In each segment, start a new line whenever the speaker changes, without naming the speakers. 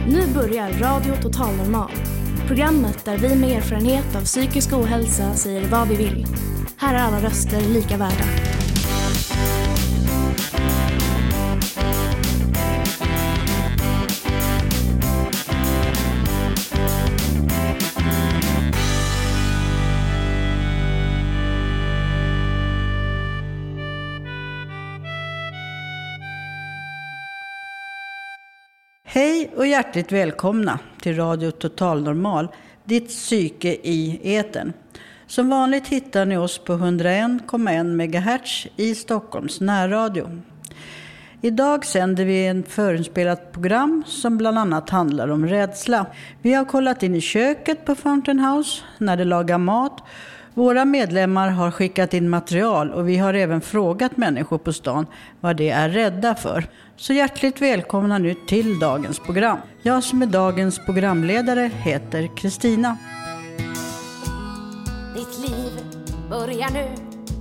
Nu börjar Radio Total Normal. Programmet där vi med erfarenhet av psykisk ohälsa säger vad vi vill. Här är alla röster lika värda.
Hej och hjärtligt välkomna till Radio Total Normal, ditt psyke i etern. Som vanligt hittar ni oss på 101,1 MHz i Stockholms närradio. Idag sänder vi en förinspelat program som bland annat handlar om rädsla. Vi har kollat in i köket på Fountain House när de lagar mat. Våra medlemmar har skickat in material och vi har även frågat människor på stan vad de är rädda för. Så hjärtligt välkomna nu till dagens program. Jag som är dagens programledare heter Kristina.
Ditt liv börjar nu.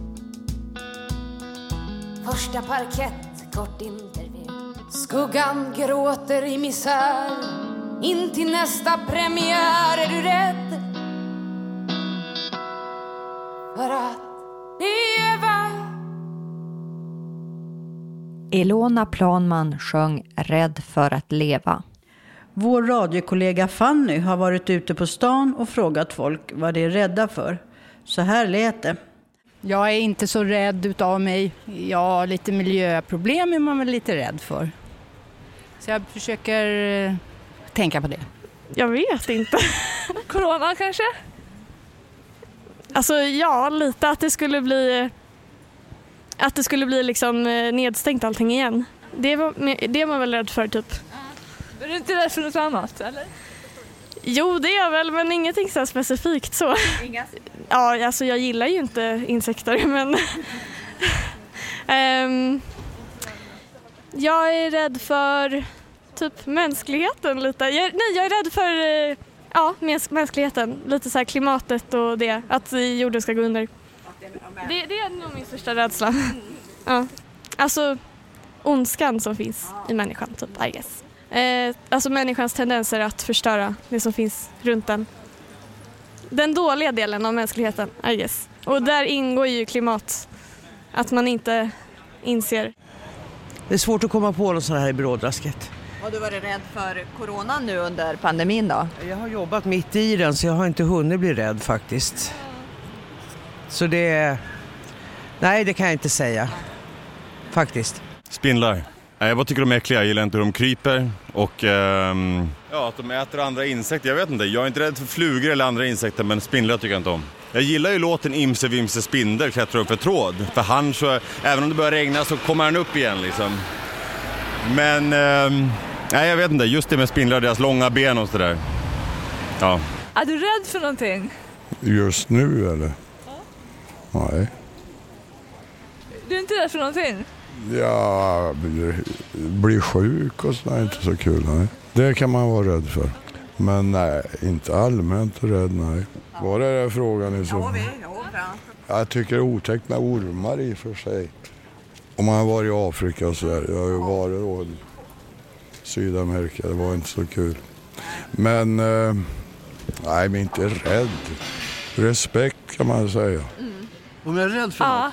Första parkett, kort intervju. Skuggan gråter i misär. In till nästa premiär är du rädd för att leva.
Ilona Planman sjöng Rädd för att leva.
Vår radiokollega Fanny har varit ute på stan och frågat folk vad de är rädda för. Så här lät det.
Jag är inte så rädd utav mig. Jag har lite miljöproblem är man väl lite rädd för. Så jag försöker tänka på det.
Jag vet inte. Corona kanske? Alltså ja, lite att det skulle bli liksom nedstängt allting igen. Det är man väl rädd för typ.
Är du inte rädd för något annat eller?
Jo, det är jag väl, men ingenting så specifikt så.
Inga?
Ja, alltså jag gillar ju inte insekter, men jag är rädd för typ mänskligheten lite. Jag är rädd för mänskligheten, lite så här klimatet och det, att jorden ska gå under. Det är nog min största rädsla. Ja. Alltså ondskan som finns i människan typ, I guess. Alltså människans tendenser att förstöra det som finns runt den. Den dåliga delen av mänskligheten, I guess. Och där ingår ju klimat. Att man inte inser.
Det är svårt att komma på något sånt här i brådrasket.
Har du varit rädd för corona nu under pandemin då?
Jag har jobbat mitt i den så jag har inte hunnit bli rädd faktiskt. Så nej, det kan jag inte säga. Faktiskt.
Spindlar. Jag bara tycker de är äckliga. Jag gillar inte hur de kryper. Och att de äter andra insekter. Jag vet inte. Jag är inte rädd för flugor eller andra insekter. Men spindlar tycker jag inte om. Jag gillar ju låten Imse Vimse Spindel klättrar upp för tråd. För han så, även om det börjar regna så kommer han upp igen liksom. Men nej, jag vet inte. Just det med spindlar, deras långa ben och sådär. Ja.
Är du rädd för någonting?
Just nu eller? Ja. Nej.
Du är inte rädd för någonting?
Ja, bli sjuk och sådär är inte så kul. Nej. Det kan man vara rädd för. Men nej, inte allmänt rädd, nej. Vad är det frågan i så?
Ja, bra.
Jag tycker det är otäckt med ormar i för sig. Om man har varit i Afrika och sådär. Jag har ju varit då i Sydamerika, det var inte så kul. Men nej, men inte rädd. Respekt kan man säga.
Om jag är rädd för något?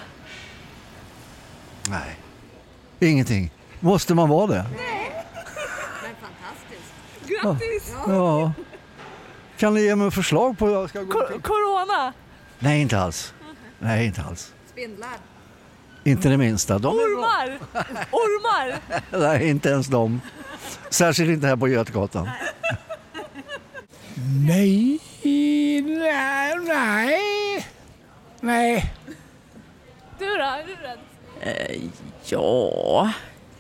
Nej. Ingenting. Måste man vara det?
Nej. Men fantastiskt. Grattis!
Ja. Kan ni ge mig förslag på hur jag ska gå till?
Corona?
Nej, inte alls. Nej, inte alls.
Spindlar?
Inte det minsta.
Ormar? Ormar?
Nej, inte ens de. Särskilt inte här på Götgatan.
Nej.
Du då? Är du rädd?
Ja,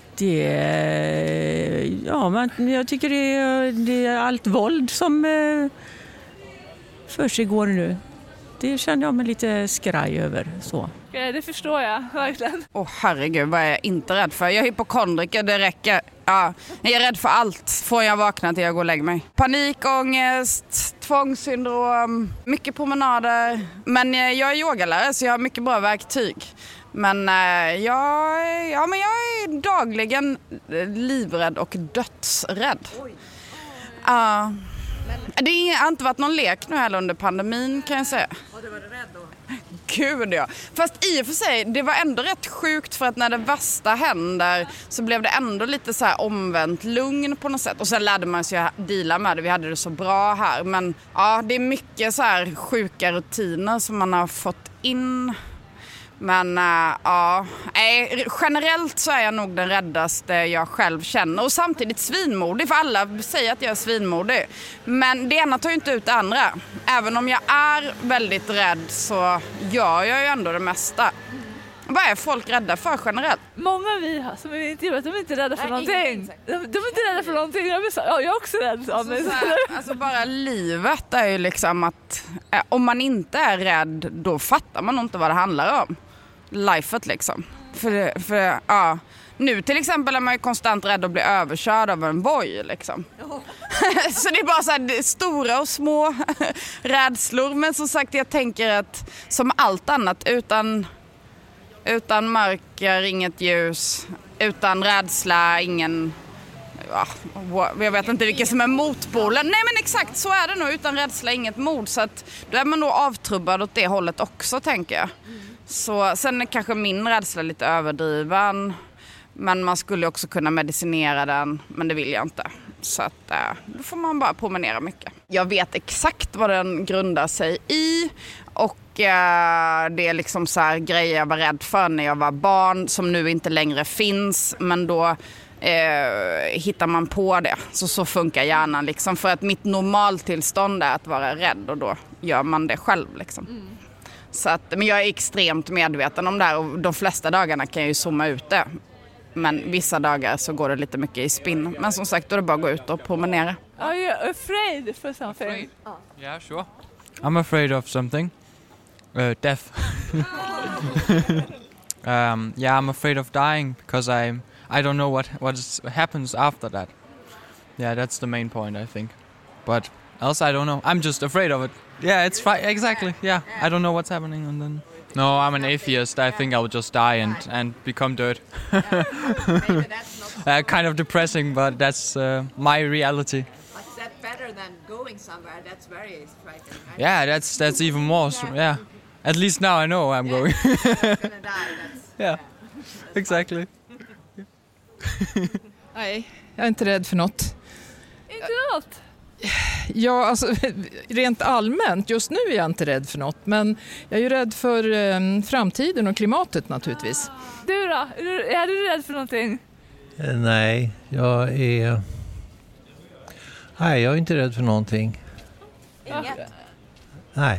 men jag tycker det är allt våld som för sig går nu. Det känner jag mig lite skraj över så.
Det förstår jag verkligen.
Herregud, vad är jag inte rädd för? Jag är hypokondriker, det räcker. Ja, jag är rädd för allt från jag vaknar till jag går och lägger mig. Panikångest, tvångssyndrom, mycket promenader. Men jag är yogalärare så jag har mycket bra verktyg. Men jag är dagligen livrädd och dödsrädd. Ja. Det har inte varit någon lek nu heller under pandemin kan jag säga.
Och du var rädd då?
Gud ja. Fast i och för sig, det var ändå rätt sjukt för att när det värsta händer så blev det ändå lite så här omvänt lugn på något sätt. Och sen lärde man sig att deala med det. Vi hade det så bra här. Men ja, det är mycket så här sjuka rutiner som man har fått in. Men ja, generellt så är jag nog den räddaste jag själv känner. Och samtidigt svinmodig, för alla säger att jag är svinmodig. Men det ena tar ju inte ut det andra. Även om jag är väldigt rädd så gör jag ju ändå det mesta. Vad är folk rädda för generellt?
Många vi har som är intervjuat, de är inte rädda för någonting. De är inte rädda för någonting. Jag är också rädd.
Alltså bara livet är ju liksom att om man inte är rädd, då fattar man inte vad det handlar om. Lifet liksom. För ja, nu till exempel är man ju konstant rädd att bli överkörd av en boj liksom. Så det är bara så här stora och små rädslor. Men som sagt, jag tänker att som allt annat utan mörker, inget ljus, utan rädsla, ingen... Ja, jag vet inte vilket som är motpolen. Nej men exakt, så är det nog. Utan rädsla, inget mod. Så att då är man nog avtrubbad åt det hållet också, tänker jag. Så, sen är kanske min rädsla lite överdriven. Men man skulle också kunna medicinera den. Men det vill jag inte. Så att då får man bara promenera mycket. Jag vet exakt vad den grundar sig i. Och det är liksom så här grejer jag var rädd för när jag var barn. Som nu inte längre finns. Men då hittar man på det. Så funkar hjärnan liksom. För att mitt normaltillstånd är att vara rädd. Och då gör man det själv liksom. Så att, men jag är extremt medveten om det här. Och de flesta dagarna kan jag ju zooma ut det. Men vissa dagar så går det lite mycket i spinn. Men som sagt, då är det bara att gå ut och promenera.
Are you afraid for something?
Yeah, sure. I'm afraid of something. Death. Yeah, I'm afraid of dying because I don't know what happens after that. Yeah, that's the main point, I think. But else I don't know. I'm just afraid of it. Yeah, it's fine. Exactly. Yeah, I don't know what's happening and then... No, I'm an atheist. I think I will just die and become dirt. Kind of depressing, but that's my reality.
But is that better than going somewhere? That's very frightening. Right?
Yeah, that's even more. Yeah, at least now I know I'm going.
Gonna die.
Yeah, exactly.
Nej, jag är inte rädd för något.
Inte något?
Ja, alltså rent allmänt, just nu är jag inte rädd för något, men jag är ju rädd för framtiden och klimatet naturligtvis.
Du då? Är du rädd för någonting?
Nej, jag är inte rädd för någonting.
Inget?
Nej.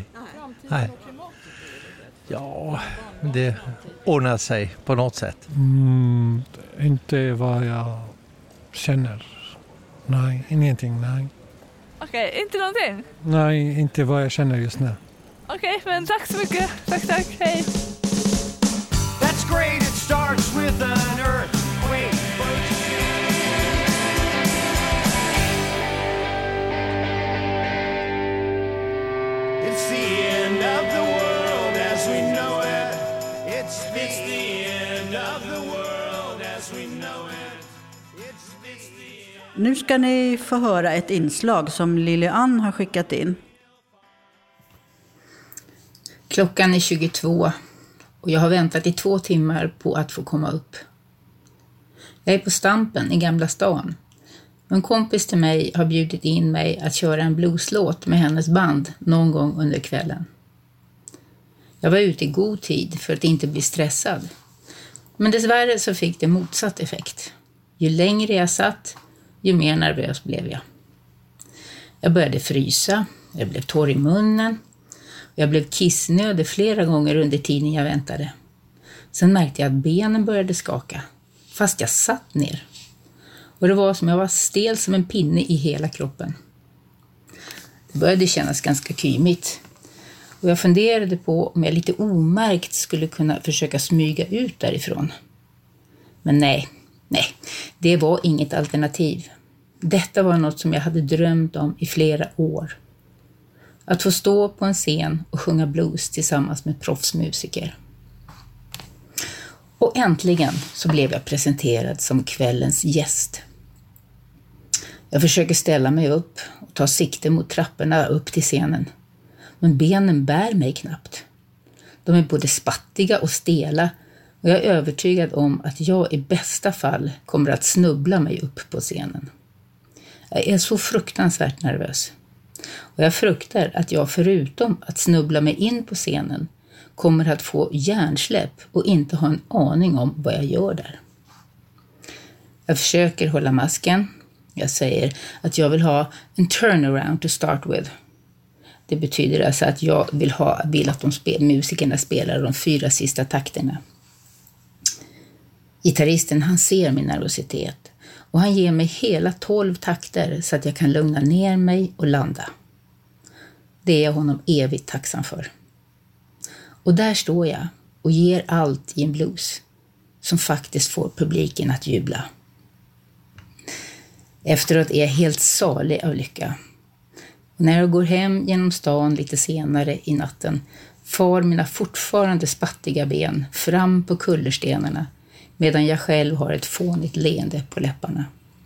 Ja, det ordnar sig på något sätt.
Inte vad jag känner. Nej, ingenting, nej.
Okej, inte någonting?
Nej, inte vad jag känner just nu.
Okej, men tack så mycket. Tack, hej.
That's great, it starts with an earthquake. It's the end of the world as we know it. It's the end of the world as we know it.
Nu ska ni få höra ett inslag som Lilian har skickat in.
Klockan är 22 och jag har väntat i 2 timmar på att få komma upp. Jag är på Stampen i Gamla stan. En kompis till mig har bjudit in mig att köra en blueslåt med hennes band någon gång under kvällen. Jag var ute i god tid för att inte bli stressad. Men dessvärre så fick det motsatt effekt. Ju längre jag satt, ju mer nervös blev jag. Jag började frysa, jag blev torr i munnen. Jag blev kissnödig flera gånger under tiden jag väntade. Sen märkte jag att benen började skaka, fast jag satt ner. Och det var som jag var stel som en pinne i hela kroppen. Det började kännas ganska kymigt. Och jag funderade på om jag lite omärkt skulle kunna försöka smyga ut därifrån. Men nej, det var inget alternativ. Detta var något som jag hade drömt om i flera år. Att få stå på en scen och sjunga blues tillsammans med proffsmusiker. Och äntligen så blev jag presenterad som kvällens gäst. Jag försöker ställa mig upp och ta sikte mot trapporna upp till scenen. Men benen bär mig knappt. De är både spattiga och stela och jag är övertygad om att jag i bästa fall kommer att snubbla mig upp på scenen. Jag är så fruktansvärt nervös. Och jag fruktar att jag förutom att snubbla mig in på scenen kommer att få hjärnsläpp och inte ha en aning om vad jag gör där. Jag försöker hålla masken. Jag säger att jag vill ha en turnaround to start with. Det betyder alltså att jag vill att musikerna spelar de 4 sista takterna. Gitarristen han ser min nervositet och han ger mig hela 12 takter så att jag kan lugna ner mig och landa. Det är jag honom evigt tacksam för. Och där står jag och ger allt i en blues som faktiskt får publiken att jubla. Efteråt är jag helt salig av lycka. Och när jag går hem genom stan lite senare i natten far mina fortfarande spattiga ben fram på kullerstenarna medan jag själv har ett fånigt leende på läpparna.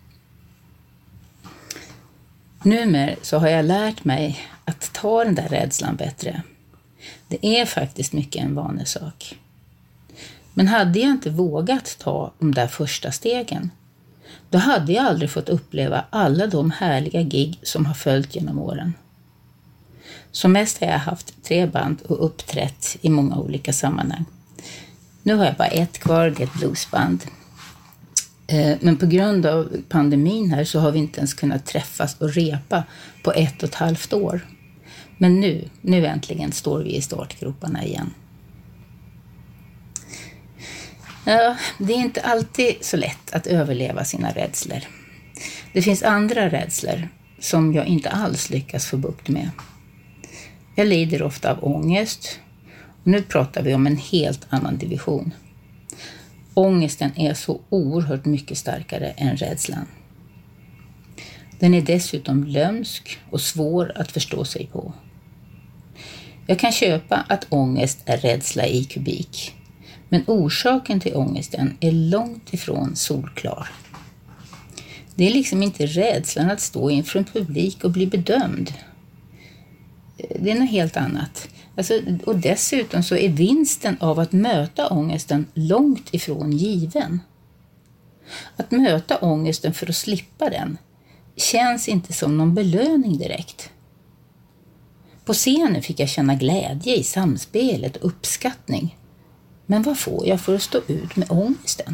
Numera så har jag lärt mig att ta den där rädslan bättre. Det är faktiskt mycket en vanesak. Men hade jag inte vågat ta de där första stegen, då hade jag aldrig fått uppleva alla de härliga gig som har följt genom åren. Som mest har jag haft 3 band och uppträtt i många olika sammanhang. Nu har jag bara ett kvar, det är ett bluesband. Men på grund av pandemin här så har vi inte ens kunnat träffas och repa på 1,5 år. Men nu äntligen står vi i startgroparna igen. Ja, det är inte alltid så lätt att överleva sina rädslor. Det finns andra rädslor som jag inte alls lyckas få bukt med. Jag lider ofta av ångest. Och nu pratar vi om en helt annan division. Ångesten är så oerhört mycket starkare än rädslan. Den är dessutom lömsk och svår att förstå sig på. Jag kan köpa att ångest är rädsla i kubik. Men orsaken till ångesten är långt ifrån solklar. Det är liksom inte rädslan att stå inför en publik och bli bedömd. Det är något helt annat. Och dessutom så är vinsten av att möta ångesten långt ifrån given. Att möta ångesten för att slippa den känns inte som någon belöning direkt. På scenen fick jag känna glädje i samspelet och uppskattning. Men vad får jag för att stå ut med ångesten?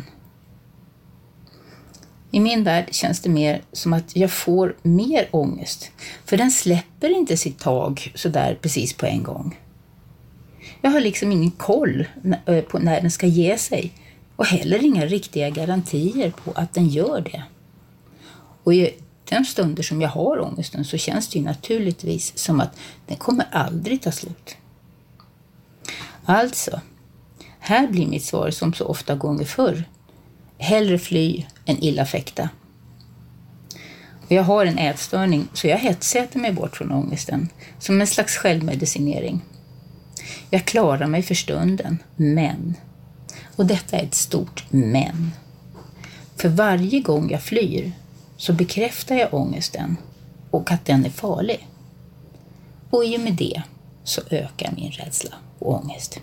I min värld känns det mer som att jag får mer ångest. För den släpper inte sitt tag så där precis på en gång. Jag har liksom ingen koll på när den ska ge sig. Och heller inga riktiga garantier på att den gör det. Och i de stunder som jag har ångesten så känns det ju naturligtvis som att den kommer aldrig ta slut. Alltså, här blir mitt svar som så ofta gånger förr. Hellre fly än illa fäkta. Och jag har en ätstörning så jag hetsäter mig bort från ångesten som en slags självmedicinering. Jag klarar mig för stunden, men. Och detta är ett stort men. För varje gång jag flyr så bekräftar jag ångesten och att den är farlig. Och i och med det så ökar min rädsla och ångest.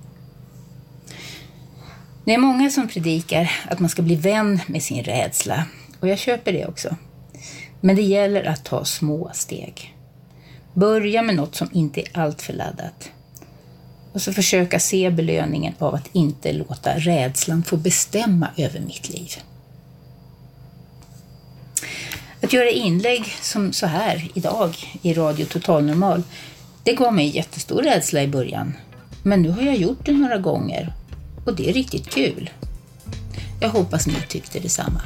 Det är många som predikar att man ska bli vän med sin rädsla. Och jag köper det också. Men det gäller att ta små steg. Börja med något som inte är allt för laddat. Och så försöka se belöningen av att inte låta rädslan få bestämma över mitt liv. Att göra inlägg som så här idag i Radio Total Normal, det gav mig jättestor rädsla i början. Men nu har jag gjort det några gånger och det är riktigt kul. Jag hoppas ni tyckte detsamma.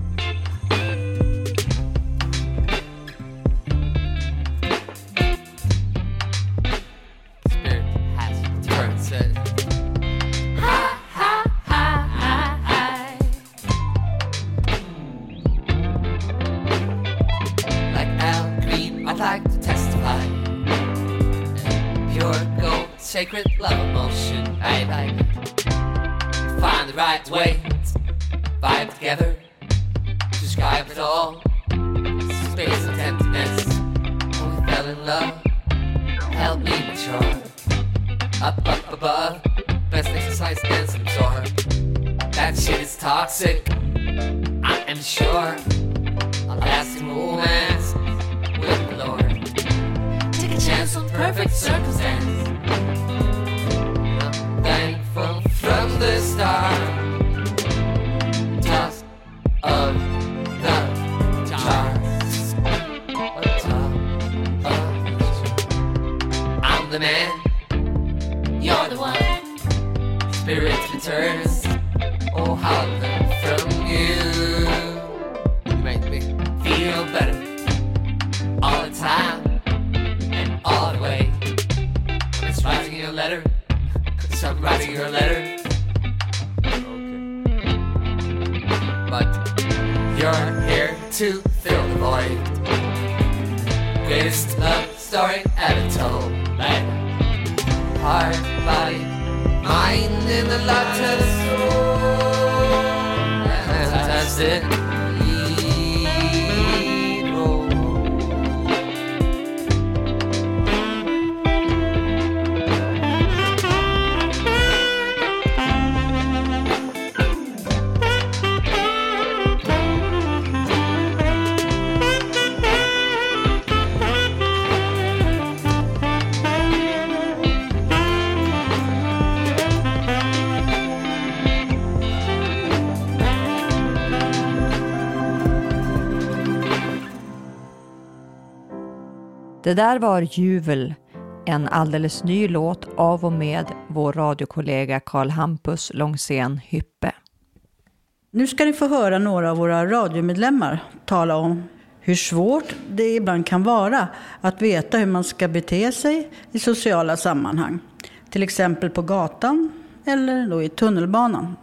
Sacred love emotion, I like. Find the right way, vibe together, describe it all. love, help me mature. Up above, best exercise dance and absorb. That shit is toxic, I am sure. A lasting romance with the Lord. Take a chance on perfect circumstance. I'm thankful from the start. Toss of the charts. I'm the man, you're the one. Spirit returns. Oh, how I learn from you. You make me feel better all the time and all the way. I'm writing you a letter, 'cause I'm writing you a letter. Okay. But you're here to fill the void. Greatest love story ever told. Like heart, body, mind in the light of the soul. Fantastic.
Det där var Juvel, en alldeles ny låt av och med vår radiokollega Karl Hampus Långsén Hyppe.
Nu ska ni få höra några av våra radiomedlemmar tala om hur svårt det ibland kan vara att veta hur man ska bete sig i sociala sammanhang. Till exempel på gatan eller då i tunnelbanan.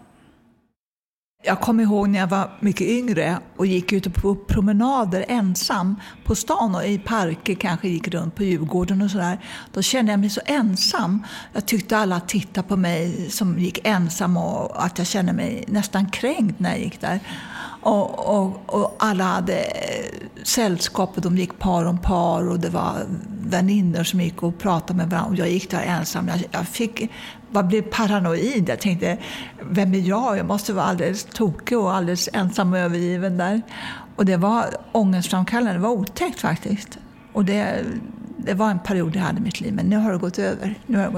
Jag kommer ihåg när jag var mycket yngre och gick ute på promenader ensam på stan och i parker, kanske gick runt på Djurgården och sådär. Då kände jag mig så ensam. Jag tyckte alla tittade på mig som gick ensam och att jag kände mig nästan kränkt när jag gick där. Och alla hade sällskap och de gick par om par och det var vänner som gick och pratade med varandra och jag gick där ensam. Jag blev paranoid. Jag tänkte, vem är jag? Jag måste vara alldeles tokig och alldeles ensam och övergiven där. Och det var ångestframkallande, det var otäckt faktiskt. Och det var en period jag hade i mitt liv, men nu har det gått över.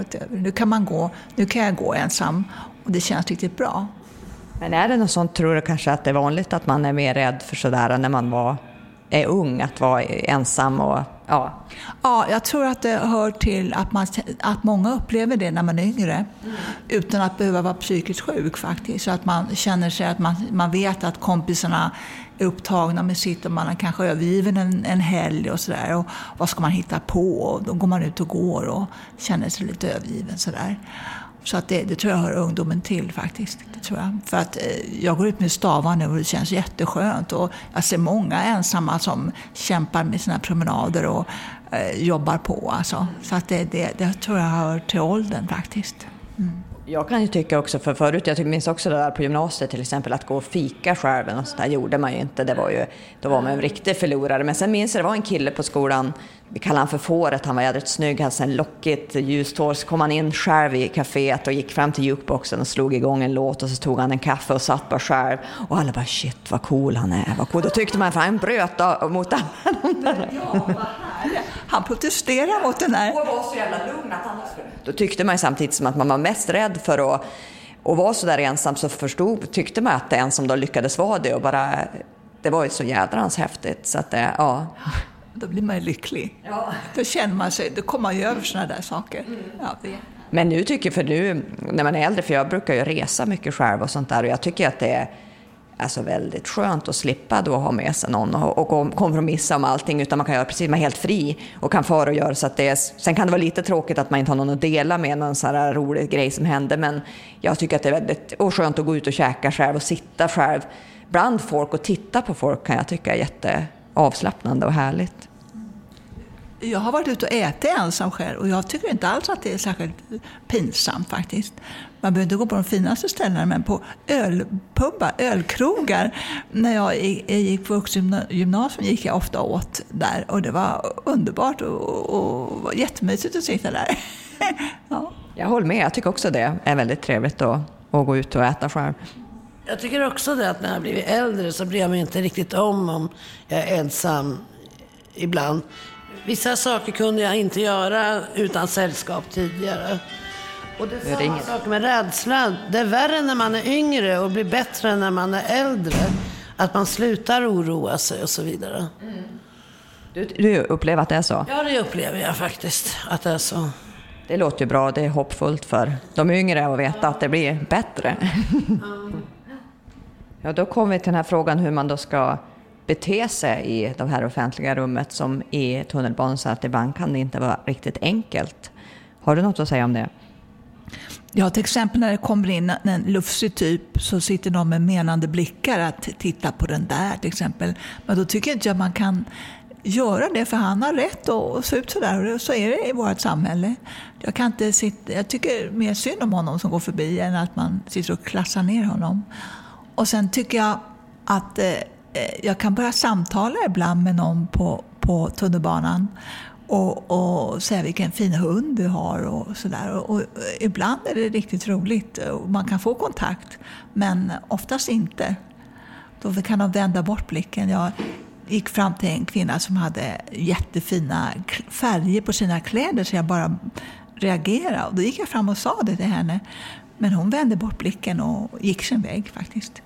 Nu kan jag gå ensam och det känns riktigt bra.
Men är det något sånt, tror du kanske att det är vanligt att man är mer rädd för sådär när man är ung, att vara ensam och ja?
Ja, jag tror att det hör till att många upplever det när man är yngre utan att behöva vara psykiskt sjuk faktiskt. Så att man känner sig att man vet att kompisarna är upptagna med sitt och man är kanske övergiven en helg och sådär. Och vad ska man hitta på? Och då går man ut och går och känner sig lite övergiven sådär. Så att det tror jag hör ungdomen till faktiskt. Det tror jag. För att jag går ut med stavar nu och det känns jätteskönt. Och jag ser många ensamma som kämpar med sina promenader och jobbar på. Alltså. Så att det tror jag hör till åldern faktiskt. Mm.
Jag kan ju tycka också, för förut, jag minns också det där på gymnasiet till exempel, att gå och fika själv och så där gjorde man ju inte. Då var man en riktig förlorare. Men sen minns jag, det var en kille på skolan, vi kallade han för Fåret, han var jädrigt snygg, han hade en lockigt ljust hår. Så kom han in själv i kaféet och gick fram till jukeboxen och slog igång en låt och så tog han en kaffe och satt bara själv. Och alla bara, shit vad cool han är, vad cool. Då tyckte man, för han bröt mot alla de där.
Ja, vad härligt. Han protesterade mot den här.
Och var så jävla lugn att han då tyckte man samtidigt som att man var mest rädd för att vara så där ensam, så tyckte man att det ensam då lyckades vara det och bara, det var ju så jädrans häftigt så att ja.
Då blir man ju lycklig. Ja. Då känner man sig, då kommer man ju över såna där saker. Ja,
Men nu tycker jag, för nu när man är äldre, för jag brukar ju resa mycket själv och sånt där, och jag tycker att det är alltså väldigt skönt att slippa då ha med sig någon och kompromissa om allting, utan man kan göra precis, man är helt fri och kan fara och göra så att det är, sen kan det vara lite tråkigt att man inte har någon att dela med, någon sån här rolig grej som händer, men jag tycker att det är väldigt skönt att gå ut och käka själv och sitta själv bland folk och titta på folk, kan jag tycka är jätteavslappnande och härligt.
Jag har varit ute och ätit ensam själv och jag tycker inte alls att det är särskilt pinsamt faktiskt. Man behöver inte gå på de finaste ställena, men på ölpubbar, ölkrogar. När jag gick på vuxengymnasium gick jag ofta åt där och det var underbart och var jättemysigt att sitta där. Ja.
Jag håller med, jag tycker också det är väldigt trevligt att gå ut och äta själv.
Jag tycker också det att när jag blivit äldre så bryr jag mig inte riktigt om jag är ensam ibland. Vissa saker kunde jag inte göra utan sällskap tidigare. Och det är samma sak med rädsla. Det är värre när man är yngre och blir bättre när man är äldre. Att man slutar oroa sig och så vidare.
Mm. Du upplever att det är så?
Ja, det upplever jag faktiskt att det är så.
Det låter ju bra, det är hoppfullt för de yngre att veta att det blir bättre. Ja, då kommer vi till den här frågan hur man då ska bete sig i de här offentliga rummet som i tunnelbanan, så att ibland kan det inte vara riktigt enkelt. Har du något att säga om det?
Ja, till exempel när det kommer in en lufsig typ så sitter de med menande blickar att titta på den där till exempel. Men då tycker inte jag man kan göra det, för han har rätt att se ut sådär, och så är det i vårt samhälle. Jag tycker mer synd om honom som går förbi än att man sitter och klassar ner honom. Och sen tycker jag att jag kan börja samtala ibland med någon på tunnelbanan och säga vilken fin hund du har och sådär. Och ibland är det riktigt roligt och man kan få kontakt, men oftast inte. Då kan de vända bort blicken. Jag gick fram till en kvinna som hade jättefina färger på sina kläder, så jag bara reagerade. Och då gick jag fram och sa det till henne. Men hon vände bort blicken och gick sin väg faktiskt.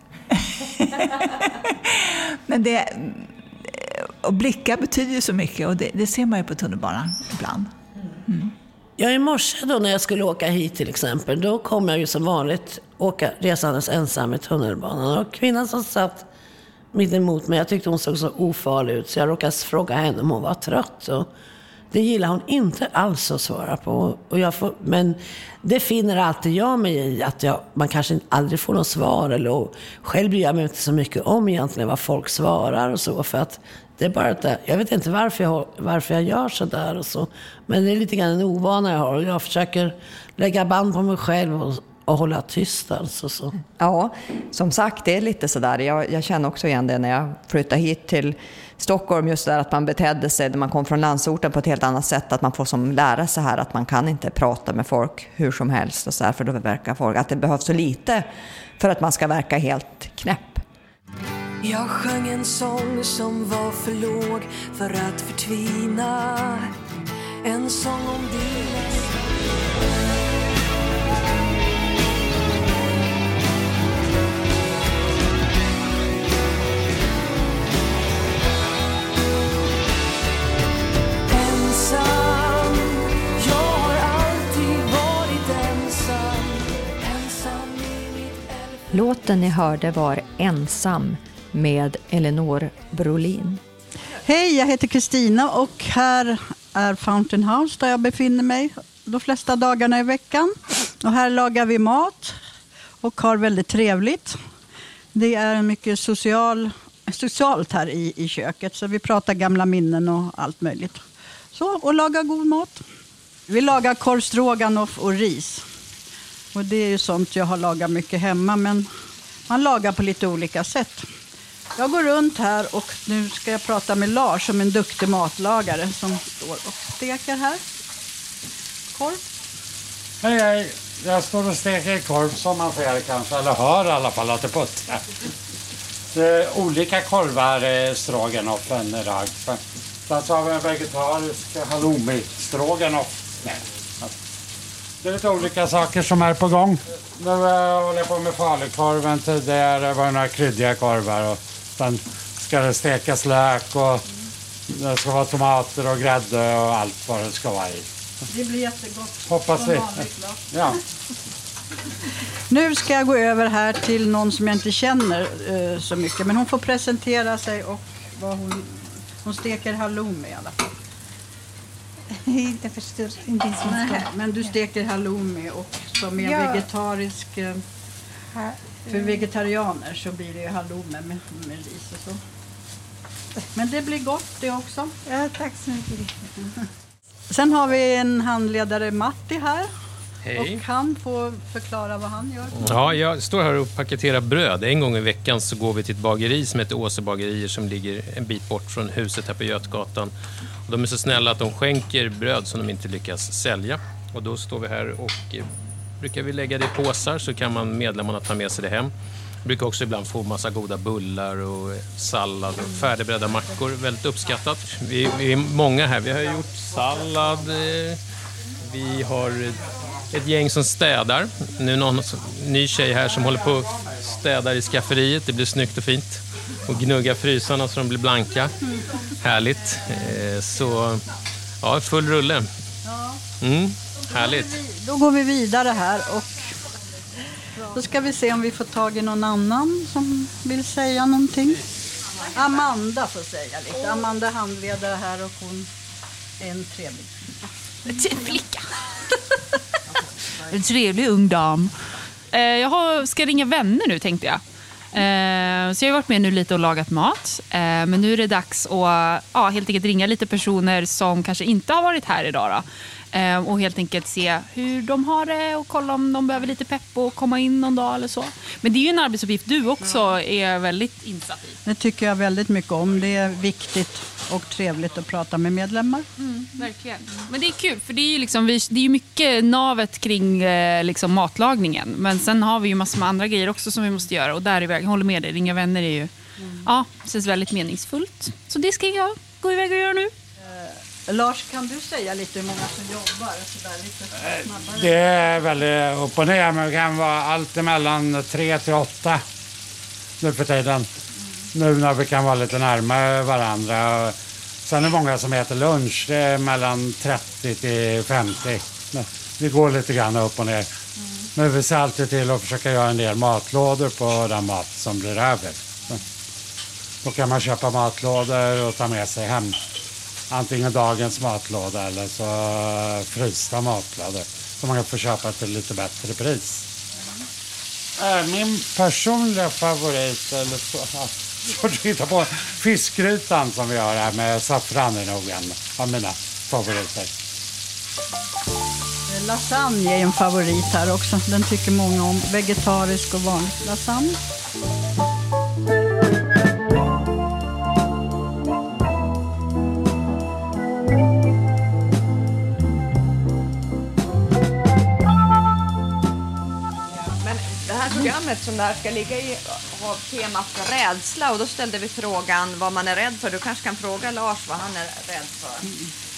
Men och blickar betyder ju så mycket, och det ser man ju på tunnelbanan ibland. Mm.
Ja, i morse då när jag skulle åka hit till exempel, då kom jag ju som vanligt resandes ensam i tunnelbanan. Och kvinnan som satt mitt emot mig, jag tyckte hon såg så ofarlig ut, så jag råkade fråga henne om hon var trött. Och det gillar hon inte alls att svara på. Men det finner alltid jag mig i, att man kanske aldrig får något svar. Eller själv bryr jag mig inte så mycket om egentligen vad folk svarar och så. För att det är bara att jag vet inte varför jag gör så där och så. Men det är lite grann en ovana jag har. Och jag försöker lägga band på mig själv och hålla tyst alltså. Så.
Ja, som sagt, det är lite sådär. Jag känner också igen det när jag flyttade hit till Stockholm, just där att man betedde sig när man kom från landsorten på ett helt annat sätt, att man får som lära sig här att man kan inte prata med folk hur som helst och så här, för då verkar folk att det behövs så lite för att man ska verka helt knäpp.
Jag sjöng en sång som var för låg för att förtvina, en sång om dina.
Låten ni hörde var Ensam med Elinor Brolin.
Hej, jag heter Kristina och här är Fountain House där jag befinner mig de flesta dagarna i veckan. Och här lagar vi mat och har väldigt trevligt. Det är mycket socialt här i köket, så vi pratar gamla minnen och allt möjligt. Så, och lagar god mat. Vi lagar korv stroganoff och ris. Och det är ju sånt jag har lagat mycket hemma, men man lagar på lite olika sätt. Jag går runt här och nu ska jag prata med Lars som en duktig matlagare som står och steker här. Korv.
Hej, hej. Jag står och steker korv som man ser kanske, eller hör i alla fall att det puttrar. Olika korvar stroganoffen idag. Sen så har vi en vegetarisk halloumi-stroganoff. Det är lite olika saker som är på gång. Nu håller jag på med falukorven. Tidigare var det några kryddiga korvar. Och sen ska det stekas lök och det ska vara tomater och grädde och allt vad det ska vara i.
Det blir jättegott.
Hoppas vi. Ja.
Nu ska jag gå över här till någon som jag inte känner så mycket. Men hon får presentera sig och vad hon steker halloumi i alla fall.
Jag förstår inte så mycket.
Men du steker halloumi och som är vegetarisk. För vegetarianer så blir det ju halloumi med ris och så. Men det blir gott det också.
Ja, tack så mycket.
Sen har vi en handledare, Matti, här.
Hej.
Och han får förklara vad han gör.
Ja, jag står här och paketerar bröd. En gång i veckan så går vi till ett bageri som heter Åsebagerier som ligger en bit bort från huset här på Götgatan. Och de är så snälla att de skänker bröd som de inte lyckas sälja. Och då står vi här och brukar vi lägga det i påsar så kan medlemmarna ta med sig det hem. Vi brukar också ibland få massa goda bullar och sallad och färdigbredda mackor. Väldigt uppskattat. Vi är många här. Vi har gjort sallad. Vi har ett gäng som städar. Nu är någon ny tjej här som håller på och städar i skafferiet. Det blir snyggt och fint. Och gnugga frysarna så de blir blanka. Härligt. Så ja, full rulle. Härligt.
Då går vi vidare här och då ska vi se om vi får tag i någon annan som vill säga någonting. Amanda får säga lite. Amanda handledare här och hon är en trevlig
flicka. En trevlig ung dam. Jag ska ringa vänner nu tänkte jag. Så jag har varit med nu lite och lagat mat. Men nu är det dags att helt enkelt ringa lite personer som kanske inte har varit här idag då. Och helt enkelt se hur de har det och kolla om de behöver lite pepp och komma in någon dag eller så. Men det är ju en arbetsuppgift du också är väldigt insatt i.
Det tycker jag väldigt mycket om. Det är viktigt och trevligt att prata med medlemmar.
Verkligen. Men det är kul för det är ju liksom, det är ju mycket navet kring liksom matlagningen. Men sen har vi ju massor med andra grejer också som vi måste göra. Och där är jag håller med dig, ringa vänner är ju det känns väldigt meningsfullt. Så det ska jag gå iväg och göra nu.
Lars, kan du säga lite hur många som jobbar? Så där, lite snabbare.
Det är väldigt upp och ner, men det kan vara allt mellan 3 till 8 nu för tiden. Nu när vi kan vara lite närmare varandra. Sen är det många som äter lunch, det är mellan 30 till 50. Vi går lite grann upp och ner. Men vi ser alltid till att försöka göra en del matlådor på den mat som blir över. Då kan man köpa matlådor och ta med sig hem. Antingen dagens matlåda eller så frysta matlådor. Så man kan få köpa till lite bättre pris. Min personliga favorit, eller så får du titta på fiskgrytan som vi har här med saffran är nog en av mina favoriter.
Lasagne är en favorit här också. Den tycker många om. Vegetarisk och vanlig lasagne.
Programmet som det här ska ligga i har temat rädsla och då ställde vi frågan vad man är rädd för. Du kanske kan fråga Lars vad han är rädd för.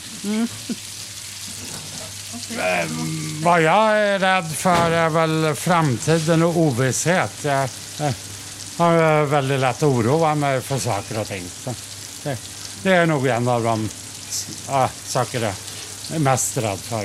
Vad jag är rädd för är väl framtiden och ovisshet. Jag har väldigt lätt oroa mig för saker och ting. Det är nog en av de saker jag är mest rädd för.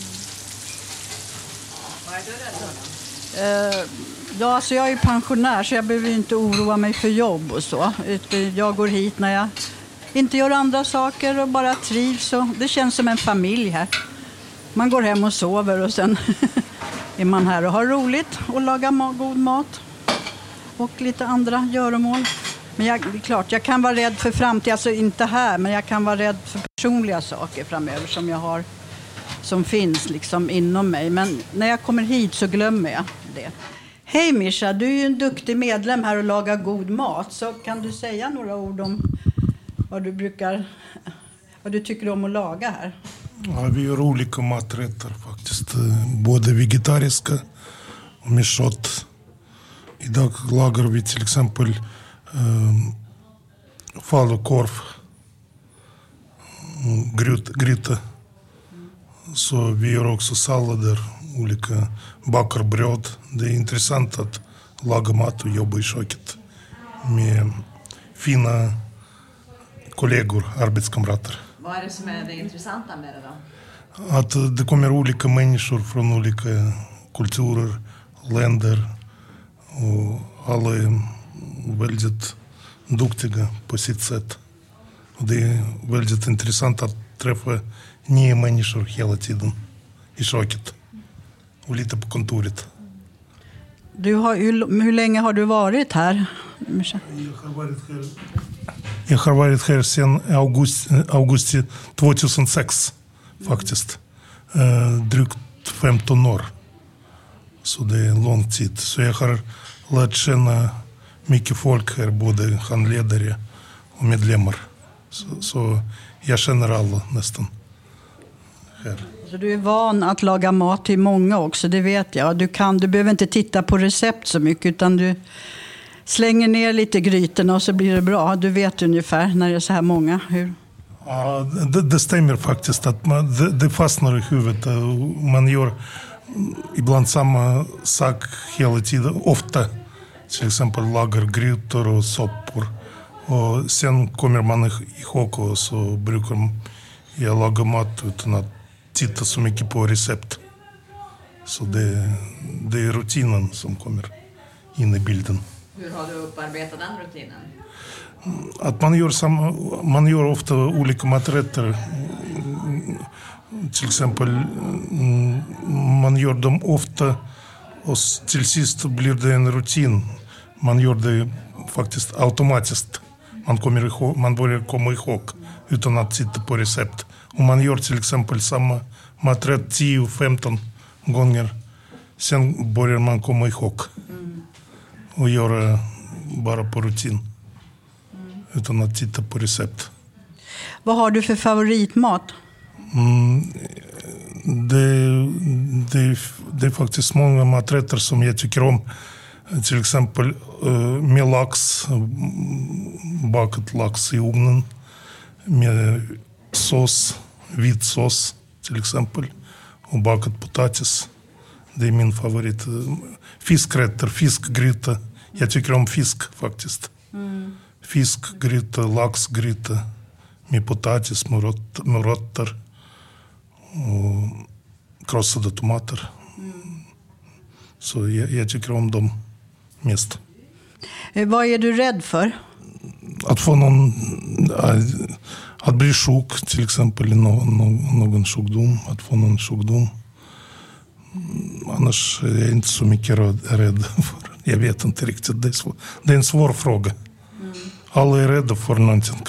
Vad är du rädd för?
Ja, alltså jag är pensionär så jag behöver inte oroa mig för jobb och så. Jag går hit när jag inte gör andra saker och bara trivs. Och det känns som en familj här. Man går hem och sover och sen är man här och har roligt och lagar god mat. Och lite andra göromål. Men det är klart, jag kan vara rädd för framtiden, alltså inte här, men jag kan vara rädd för personliga saker framöver som jag har, som finns liksom inom mig. Men när jag kommer hit så glömmer jag det. Hej Mischa, du är ju en duktig medlem här och lagar god mat. Så kan du säga några ord om vad du tycker om att laga här?
Ja, vi gör olika maträtter faktiskt. Både vegetariska och med kött. Idag lagar vi till exempel falukorv, gryta. Så vi gör också sallader, olika bakar bröd. Det är intressant att laga mat och jobba i köket med fina kollegor, arbetskamrater.
Vad är det som är det intressanta med det då?
Att det kommer olika människor från olika kulturer, länder och alla är väldigt duktiga på sitt sätt. Och det är väldigt intressant att träffa nya människor hela tiden i köket och lite på kontoret.
Hur länge har du varit här, Mischa?
Jag har varit här Jag har varit här sedan augusti 2006 faktiskt. Drygt 15 år. Så det är en lång tid. Så jag har lärt känna mycket folk här, både handledare och medlemmar. Så jag känner alla nästan här.
Så du är van att laga mat till många också, det vet jag. Du behöver inte titta på recept så mycket, utan du slänger ner lite grytorna och så blir det bra. Du vet ungefär när det är så här många. Hur?
Ja, det stämmer faktiskt att det fastnar i huvudet. Man gör ibland samma sak hela tiden, ofta. Till exempel lagar grytor och soppor. Och sen kommer man ihåg och så brukar jag laga mat utan att titta så mycket på recept. Så det är rutinen som kommer in i bilden.
Hur har du upparbetat den rutinen?
Att man gör ofta olika maträtter. Till exempel man gör dem ofta och till sist blir det en rutin. Man gör det faktiskt automatiskt. Man börjar komma ihåg utan att titta på recept. Om man gör till exempel samma maträtt 10-15 gånger, sen börjar man komma ihåg och göra bara på rutin utan att titta på recept.
Vad har du för favoritmat?
Det är faktiskt många maträtter som jag tycker om. Till exempel med lax, bakad lax i ugnen, med sås, vit sås till exempel, och bakad potatis. Det är min favorit. Fiskrätter, fiskgryta. Jag tycker om fisk faktiskt. Fiskgryta, laxgryta med potatis, morötter och krossade tomater. Så jag tycker om dem mest.
Vad är du rädd för?
Att få att bli sjuk till exempel, någon sjukdom, att få någon sjukdom. Annars är jag inte så mycket rädd för. Jag vet inte riktigt. Det är en svår fråga. Alla är rädda för någonting.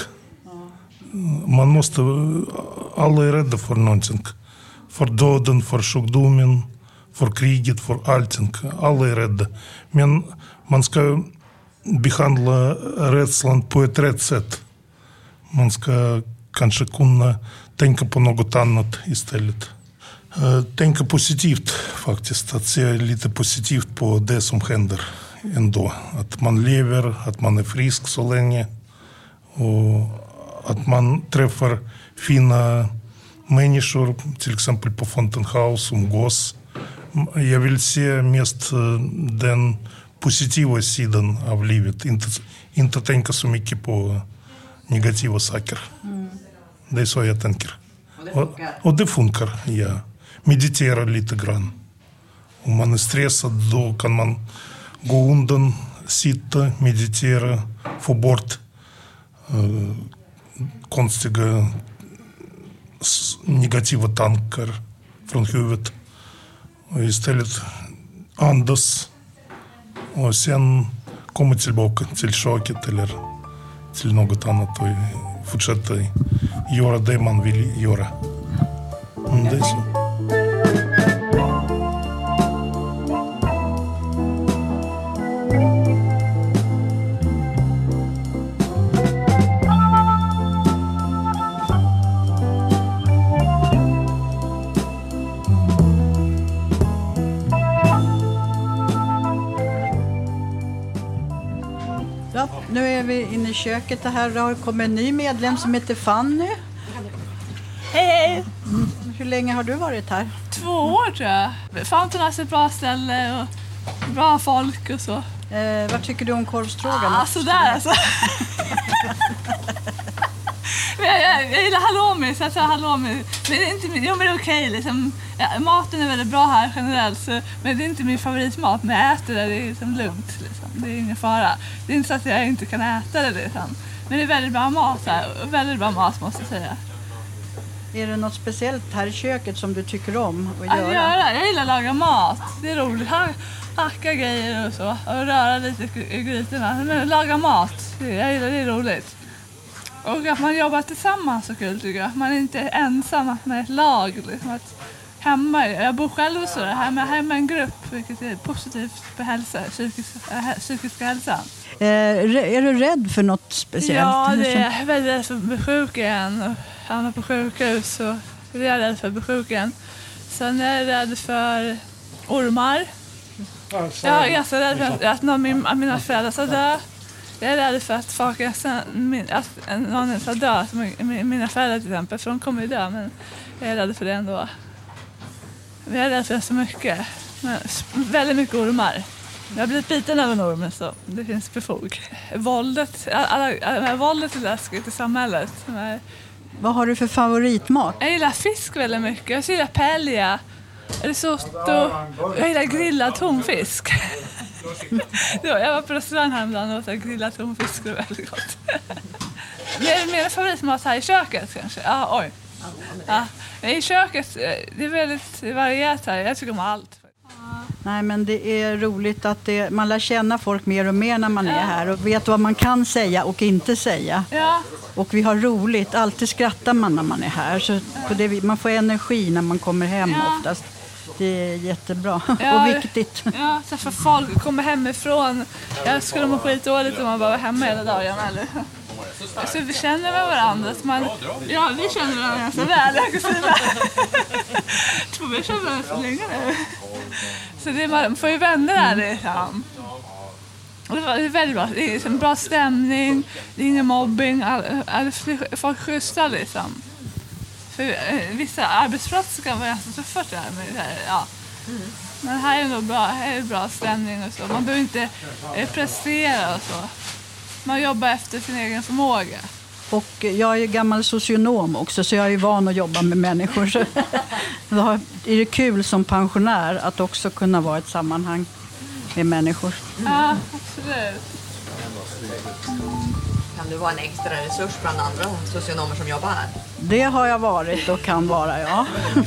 Alla är rädda för någonting. För döden, för sjukdomen, för kriget, för allting. Alla är rädda. Men man ska behandla rädslan på ett rätt sätt. Man ska kanske kunna tänka på något annat istället. Tänka positivt faktiskt. Att se lite positivt på det som händer ändå. Att man lever, att man är frisk så länge. Och att man träffar fina människor, till exempel på Fountain House, umgås. Jag vill se mest den positiva sidan av livet. Inte tänka så mycket på negativa saker. Det är så jag tänker. Och det funkar, ja. Meditera lite grann. Om man är stressad, då kan man gå undan, sitta, meditera, få bort konstiga negativa tankar från huvudet. Och istället andas och sen komma tillbaka till köket eller till något annat och fortsätta göra det man vill göra. Det är så.
Nu är vi inne i köket. Det här har kommit en ny medlem som heter Fanny.
Hej!
Hur länge har du varit här?
2 år tror jag. Fountain är ett bra ställe och bra folk och så.
Vad tycker du om korvstroganoff?
Sådär alltså. Jag gillar halloumi, så jag tar halloumi. Men det är inte men det är okej liksom. Maten är väldigt bra här generellt, så, men det är inte min favoritmat. Men jag äter det är liksom lugnt liksom. Det är ingen fara. Det är inte så att jag inte kan äta det liksom. Men det är väldigt bra mat här. Väldigt bra mat måste jag säga.
Är det något speciellt här i köket som du tycker om att göra?
Jag gillar att laga mat. Det är roligt. Hacka grejer och så. Och röra lite i grytorna. Men laga mat. Jag gillar det är roligt. Och att man jobbar tillsammans så kul tycker jag. Att man inte är ensam, att man är ett lag. Liksom. Att hemma, jag bor själv och så, hemma en grupp, vilket är positivt för hälsa, psykiska hälsan.
Är du rädd för något speciellt?
Ja, jag är väldigt rädd för att bli sjuk igen och hamna på sjukhus. Och det är jag rädd för att bli sjuk igen. Sen är jag rädd för ormar. Jag är ganska rädd för att någon av mina föräldrar ska dö. Jag är rädd för att någon ska dö, mina föräldrar till exempel, för de kommer ju dö, men jag är rädd för det ändå. Jag är rädd för så mycket, men väldigt mycket ormar. Jag har blivit biten av en orm, så det finns befog. Våldet är läskigt i samhället.
Vad har du för favoritmat?
Jag gillar fisk väldigt mycket. Jag gillar paella, risotto. Jag gillar grillad tonfisk. Jag var på restaurang häromdagen och åt grillad tonfisk. Det var väldigt gott. Mer favoritmat här i köket kanske. Ja, i köket, det är väldigt varierat här. Jag tycker om allt.
Nej, men det är roligt att man lär känna folk mer och mer när man är här och vet vad man kan säga och inte säga. Ja. Och vi har roligt, alltid skrattar man när man är här. Så man får energi när man kommer hem oftast. Det är jättebra och viktigt.
Ja, så för folk kommer hemifrån. Jag skulle må skitdåligt om man bara var hemma hela dagen. Eller? Så vi känner med varandra. Vi känner varandra ganska väl. Vi känner varandra så länge nu. Så man får ju vänner där liksom. Och det är väldigt bra. Det är en bra stämning. Det är ingen mobbing. Folk skjutsar liksom. För vissa arbetsplatser kan vara ganska tuffa där. Men här är nog bra stämning och så. Man behöver inte prestera och så. Man jobbar efter sin egen förmåga.
Och jag är ju gammal socionom också, så jag är ju van att jobba med människor. Så då är det kul som pensionär att också kunna vara i ett sammanhang med människor.
Ja, absolut.
Kan du vara en extra resurs bland andra socionomer som jobbar här?
Det har jag varit och kan vara, ja.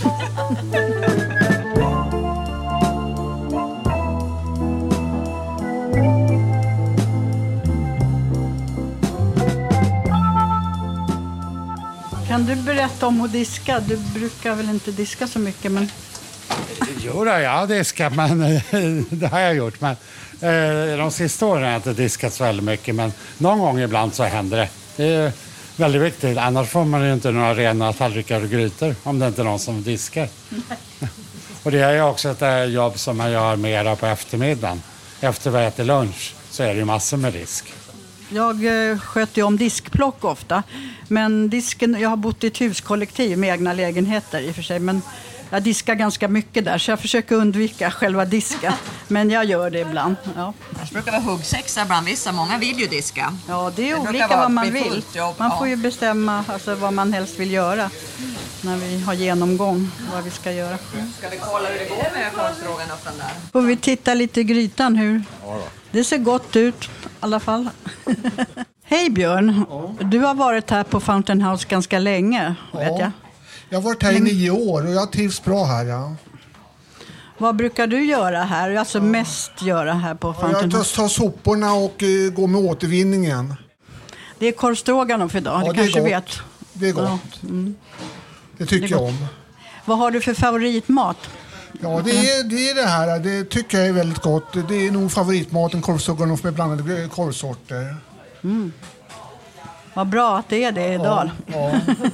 Kan du berätta om att diska? Du brukar väl inte diska så mycket, men...
Jo, jag har diskat, men det har jag gjort. Men de sista åren har jag inte diskat så väldigt mycket, men någon gång ibland så händer det. Det är väldigt viktigt, annars får man ju inte några rena tallrikar och grytor om det inte är någon som diskar. Och det är ju också ett jobb som man gör mera på eftermiddagen. Efter vi äter lunch så är det ju massor med disk.
Jag sköter ju om diskplock ofta, men jag har bott i ett huskollektiv med egna lägenheter i och för sig, men jag diskar ganska mycket där, så jag försöker undvika själva disken, men jag gör det ibland. Ja.
Det brukar vara huggsexa bland vissa, många vill ju diska.
Ja, det är olika vad man vill. Man får ju bestämma vad man helst vill göra när vi har genomgång vad vi ska göra.
Ska vi kolla hur det går med korvstroganoffen öppen där?
Får vi titta lite i grytan hur? Det ser gott ut i alla fall. Hej Björn, du har varit här på Fountain House ganska länge, vet jag.
Jag har varit här i 9 år och jag trivs bra här, ja.
Vad brukar du göra här? Alltså mest göra här på Fountain House?
Jag tar soporna och går med återvinningen.
Det är korvstroganoff idag,
ja,
du kanske vet.
Det är gott. Ja. Mm. Det tycker jag om.
Vad har du för favoritmat?
Ja, det är det här. Det tycker jag är väldigt gott. Det är nog favoritmaten, korvstroganoff med blandade korvsorter.
Mm. Vad bra att det är det idag.
Ja.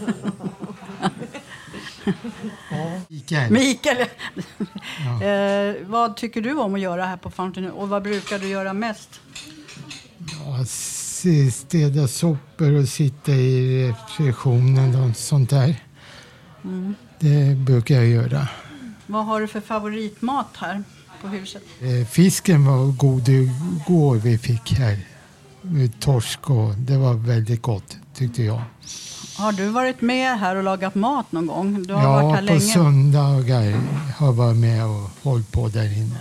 Mikael. Ja. Vad tycker du om att göra här på Fountain och vad brukar du göra mest?
Ja, städa sopor och sitta i receptionen och sånt där. Mm. Det brukar jag göra.
Vad har du för favoritmat här på huset?
Fisken var god igår vi fick här. Med torsk och det var väldigt gott tyckte jag.
Har du varit med här och lagat mat någon gång? Du har varit här länge.
Ja, på söndagar har jag varit med och hållit på där inne.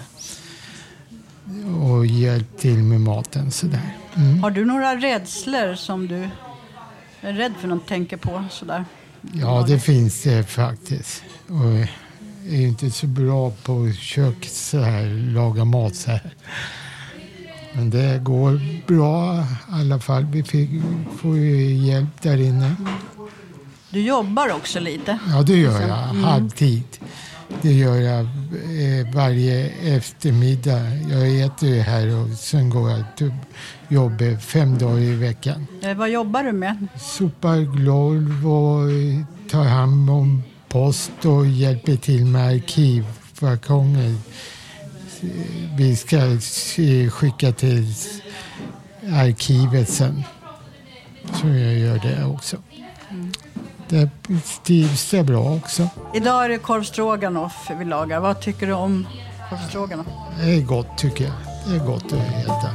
Och hjälpt till med maten sådär. Mm.
Har du några rädslor som du är rädd för något tänker på sådär?
Ja, det finns det faktiskt. Och jag är inte så bra på kök så här, laga mat så här. Men det går bra i alla fall. Vi får ju hjälp där inne.
Du jobbar också lite?
Ja, det gör jag. Halvtid. Det gör jag varje eftermiddag. Jag äter ju här och sen går jag till jobbet 5 dagar i veckan.
Vad jobbar du med?
Sopar golv och tar hand om post och hjälper till med arkivvarkonger. Vi ska skicka till arkivet sen. Så jag gör det också. Det trivs det bra också.
Idag är det korvstroganoff vi lagar. Vad tycker du om korvstroganoff?
Det är gott tycker jag. Det är gott att äta.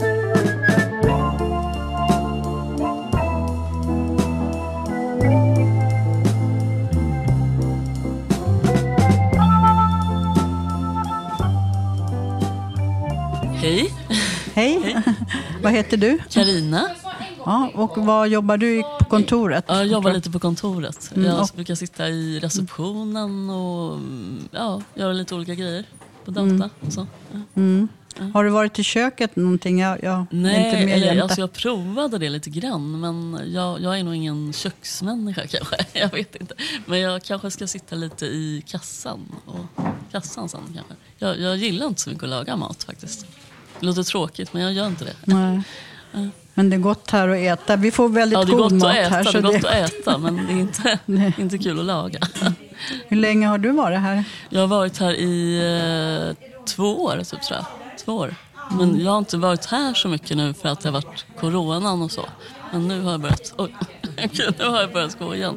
Hej.
Hej. Vad heter du?
Carina.
Ja, och vad jobbar du på kontoret?
Ja, jag jobbar lite på kontoret. Jag brukar sitta i receptionen och göra lite olika grejer på data. Och så.
Har du varit i köket någonting?
Nej, jag provade det lite grann, men jag är nog ingen köksmänniska kanske. Jag vet inte. Men jag kanske ska sitta lite i kassan sen kanske. Jag gillar inte så mycket att laga mat faktiskt. Det låter tråkigt, men jag gör inte det.
Nej. Men det är gott här att äta. Vi får väldigt god mat här.
Det är gott att äta, men det är inte kul att laga.
Hur länge har du varit här?
Jag har varit här i 2 år, typ, tror jag. 2 år. Men jag har inte varit här så mycket nu för att det har varit coronan och så. Men nu har jag börjat gå igen.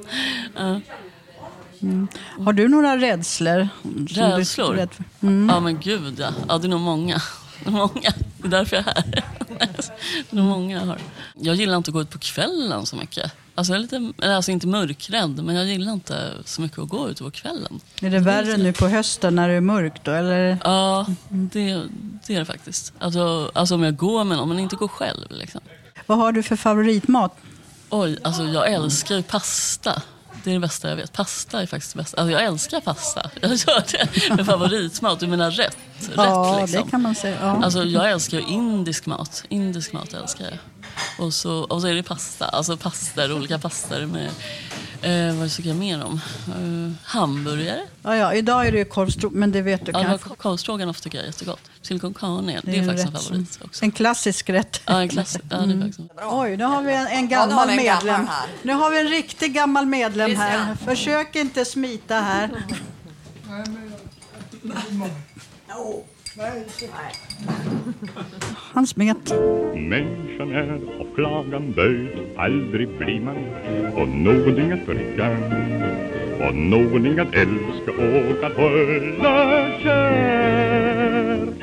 Har du några rädslor?
Rädslor? Ja, men gud, ja. Ja, det är nog många. Det är därför jag är här. Det är många jag har. Jag gillar inte att gå ut på kvällen så mycket. Alltså jag är lite, inte mörkrädd, men jag gillar inte så mycket att gå ut på kvällen.
Är det värre nu på hösten när det är mörkt då? Eller?
Ja, det är det faktiskt. Alltså om jag går med någon, men inte går själv liksom.
Vad har du för favoritmat?
Oj, alltså jag älskar ju pasta. Det är det bästa jag vet. Pasta är faktiskt det bästa. Alltså jag älskar pasta. Jag gör det med favoritmat. Du menar rätt liksom.
Det kan man säga. Ja.
Alltså jag älskar ju indisk mat. Indisk mat älskar jag. Och så är det pasta. Alltså pastor, olika pastor med vad tycker jag mer om? Hamburgare.
Ja, idag är det korvstroganoff, men det vet du kanske.
Korvstroganoff tycker jag är jättegott. Silicon carne, det är faktiskt en favorit också.
En klassisk rätt.
Ja, det är faktiskt.
Oj, nu har vi en gammal medlem. Nu har vi en riktig gammal medlem här. Försök inte smita här. Han smet.
Människan är av flagan böjd, aldrig blir man och någonting att dricka och någonting att älska och att hålla kär.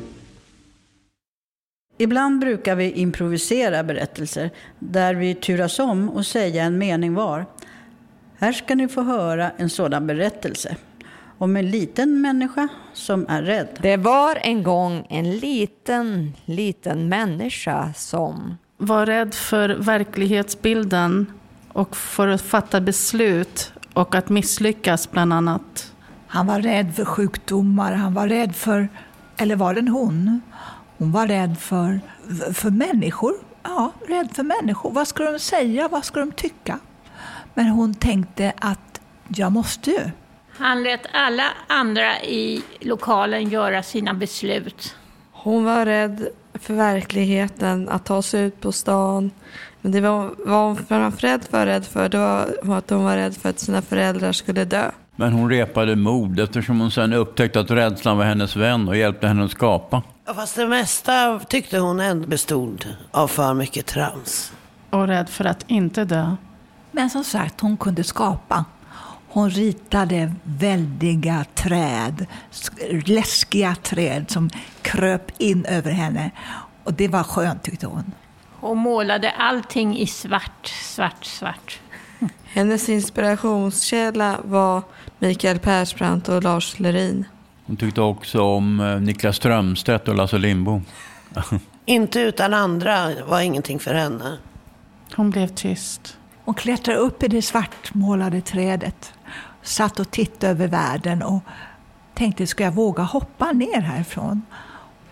Ibland brukar vi improvisera berättelser där vi turas om och säga en mening var. Här ska ni få höra en sådan berättelse om en liten människa som är rädd.
Det var en gång en liten människa som
var rädd för verklighetsbilden och för att fatta beslut och att misslyckas bland annat.
Han var rädd för sjukdomar, han var rädd för, eller var det en hon? Hon var rädd för människor. Ja, rädd för människor. Vad ska de säga? Vad ska de tycka? Men hon tänkte att jag måste ju.
Han lät alla andra i lokalen göra sina beslut.
Hon var rädd för verkligheten, att ta sig ut på stan. Men det var hon framförallt rädd för, det var att hon var rädd för att sina föräldrar skulle dö.
Men hon repade mod eftersom hon sen upptäckte att rädslan var hennes vän och hjälpte henne att skapa.
Ja, fast det mesta tyckte hon ändå bestod av för mycket trams.
Och rädd för att inte dö.
Men som sagt, hon kunde skapa. Hon ritade väldiga träd, läskiga träd som kröp in över henne. Och det var skönt tyckte hon.
Hon målade allting i svart.
Hennes inspirationskälla var Mikael Persbrandt och Lars Lerin.
Hon tyckte också om Niklas Strömstedt och Lasse Lindbom.
Inte utan andra var ingenting för henne.
Hon blev tyst.
Hon klättrade upp i det svartmålade trädet. Satt och tittade över världen och tänkte, ska jag våga hoppa ner härifrån?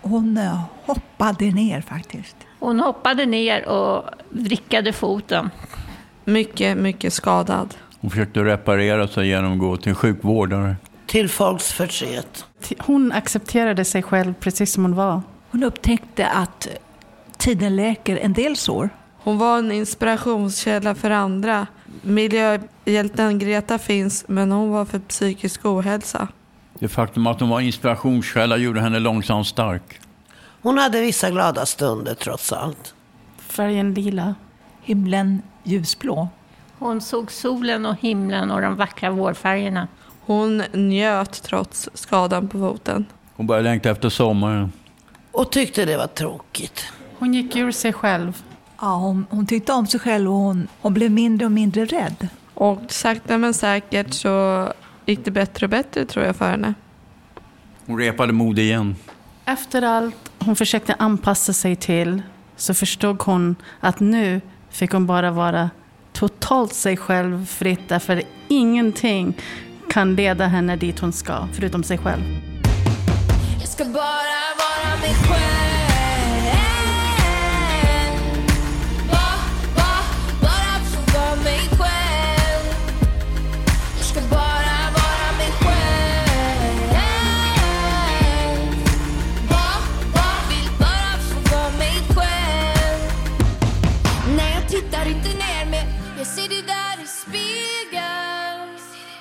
Hon hoppade ner faktiskt.
Hon hoppade ner och vrickade foten.
Mycket, mycket skadad.
Hon försökte reparera sig genom att gå till sjukvårdare.
Till folks förtret.
Hon accepterade sig själv precis som hon var.
Hon upptäckte att tiden läker en del sår.
Hon var en inspirationskälla för andra. Miljöhjälten Greta finns, men hon var för psykisk ohälsa.
Det faktum att hon var inspirationskälla gjorde henne långsamt stark.
Hon hade vissa glada stunder trots allt.
Färgen lila.
Himlen ljusblå.
Hon såg solen och himlen och de vackra vårfärgerna.
Hon njöt trots skadan på foten.
Hon började längta efter sommaren.
Och tyckte det var tråkigt.
Hon gick ur sig själv.
Ja, hon tyckte om sig själv och hon blev mindre och mindre rädd.
Och sakta men säkert så gick det bättre och bättre, tror jag, för henne.
Hon repade mod igen.
Efter allt hon försökte anpassa sig till så förstod hon att nu fick hon bara vara totalt sig själv fritt, därför ingenting kan leda henne dit hon ska, förutom sig själv.
Jag ska bara vara mig själv. Bara få vara mig själv. Jag ska bara vara mig själv. Vill bara få vara mig själv. Nej, jag tittar inte ner mig. Jag ser det där i spegeln.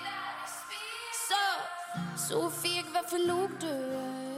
Så feg, varför låg du?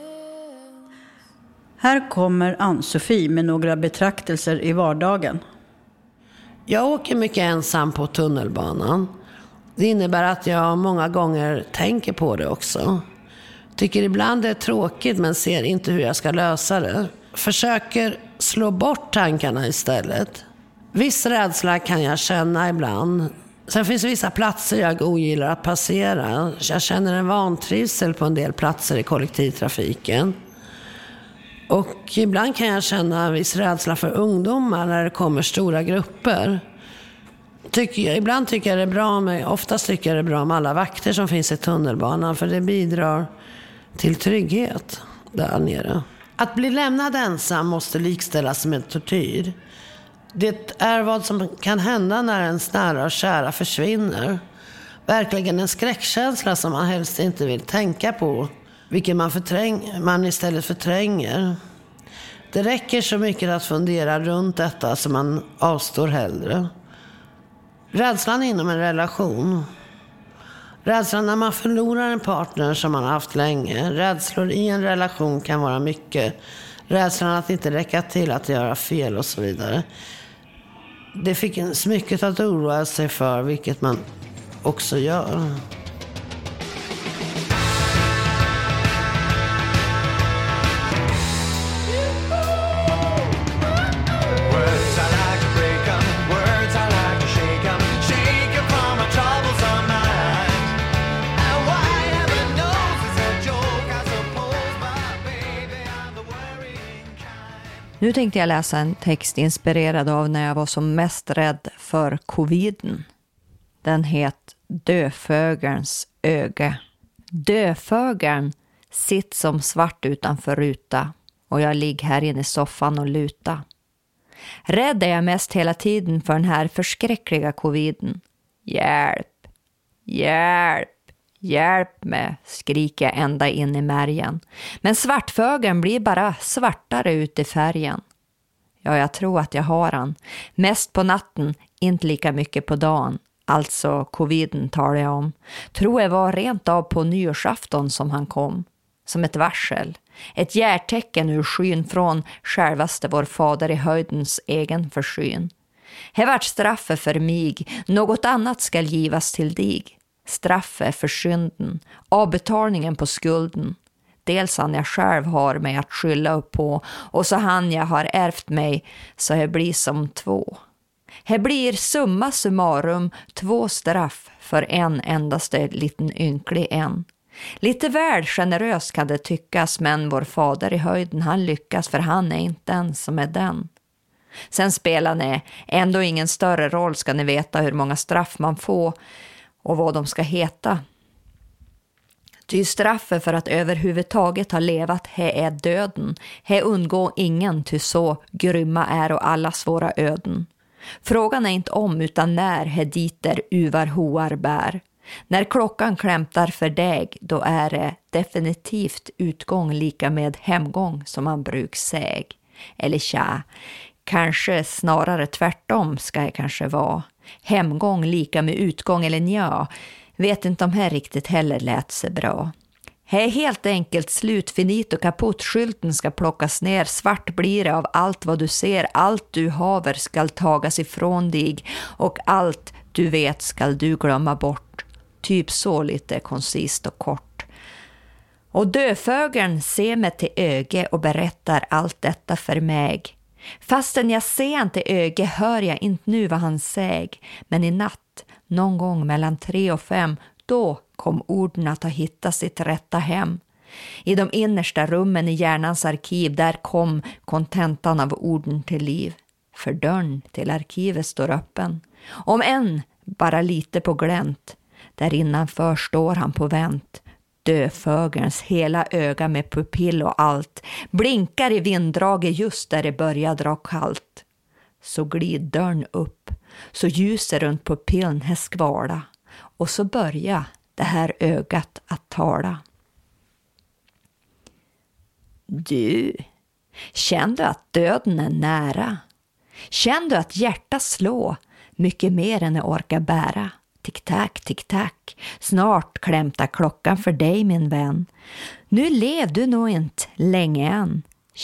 Här kommer Ann-Sofie med några betraktelser i vardagen.
Jag åker mycket ensam på tunnelbanan. Det innebär att jag många gånger tänker på det också. Tycker ibland det är tråkigt men ser inte hur jag ska lösa det. Försöker slå bort tankarna istället. Viss rädsla kan jag känna ibland. Sen finns det vissa platser jag ogillar att passera. Jag känner en vantrivsel på en del platser i kollektivtrafiken. Och ibland kan jag känna en viss rädsla för ungdomar när det kommer stora grupper. Ibland tycker jag det är bra med, oftast tycker jag det är bra med alla vakter som finns i tunnelbanan, för det bidrar till trygghet där nere. Att bli lämnad ensam måste likställas med tortyr. Det är vad som kan hända när ens nära och kära försvinner. Verkligen en skräckkänsla som man helst inte vill tänka på. Vilket man istället förtränger. Det räcker så mycket att fundera runt detta som man avstår hellre. Rädslan inom en relation. Rädslan när man förlorar en partner som man har haft länge. Rädslor i en relation kan vara mycket. Rädslan att inte räcka till, att göra fel och så vidare. Det finns mycket att oroa sig för, vilket man också gör.
Nu tänkte jag läsa en text inspirerad av när jag var som mest rädd för coviden. Den heter Döfögelns öga. Döfögeln sitter som svart utanför ruta och jag ligger här inne i soffan och luta. Rädd är jag mest hela tiden för den här förskräckliga coviden. Hjälp, hjälp, hjälp mig, skriker jag ända in i märgen. Men svartfögeln blir bara svartare ut i färgen. Ja, jag tror att jag har han. Mest på natten, inte lika mycket på dagen. Alltså coviden talar jag om. Tror jag var rent av på nyårsafton som han kom. Som ett varsel. Ett hjärtecken ur skyn från självaste vår fader i höjdens egen försyn. Här vart straffet för mig, något annat skall givas till dig. Straffet för synden, avbetalningen på skulden. Dels han jag själv har mig att skylla upp på, och så han jag har ärvt mig, så det blir som två. Här blir summa summarum 2 straff för en endaste liten ynklig en. Lite väl generöst kan det tyckas, men vår fader i höjden han lyckas, för han är inte den som är den. Sen spelar det ändå ingen större roll, ska ni veta hur många straff man får och vad de ska heta. Ty straffet för att överhuvudtaget ha levat he är döden. He undgår ingen, ty så grymma är och allas våra öden. Frågan är inte om utan när he diter uvar hoar bär. När klockan klämtar för deg, då är det definitivt utgång lika med hemgång som man bruk säg. Eller tja, kanske snarare tvärtom ska det kanske vara. Hemgång lika med utgång eller nja. Vet inte om här riktigt heller lät sig bra. Det är helt enkelt slut, finit och kaputt. Skylten ska plockas ner, svart blir det av allt vad du ser. Allt du haver skall tagas ifrån dig och allt du vet skall du glömma bort. Typ så lite koncist och kort. Och döfögeln ser mig till öge och berättar allt detta för mig. Fastän jag ser inte öge hör jag inte nu vad han säger. Men i natt, någon gång mellan 3 och 5, då kom orden att ha hittat sitt rätta hem. I de innersta rummen i hjärnans arkiv, där kom kontentan av orden till liv. För dörren till arkivet står öppen. Om än bara lite på glänt. Där innanför står han på vänt. Döfögelns hela öga med pupill och allt blinkar i vinddraget just där det börjar dra kallt. Så glid dörren upp, så ljuser runt pupillen häskvala och så börjar det här ögat att tala. Du, känner du att döden är nära? Känner du att hjärtat slår mycket mer än jag orkar bära? Tick-tack, tick-tack. Snart klämtar klockan för dig, min vän. Nu lev du nog inte länge än.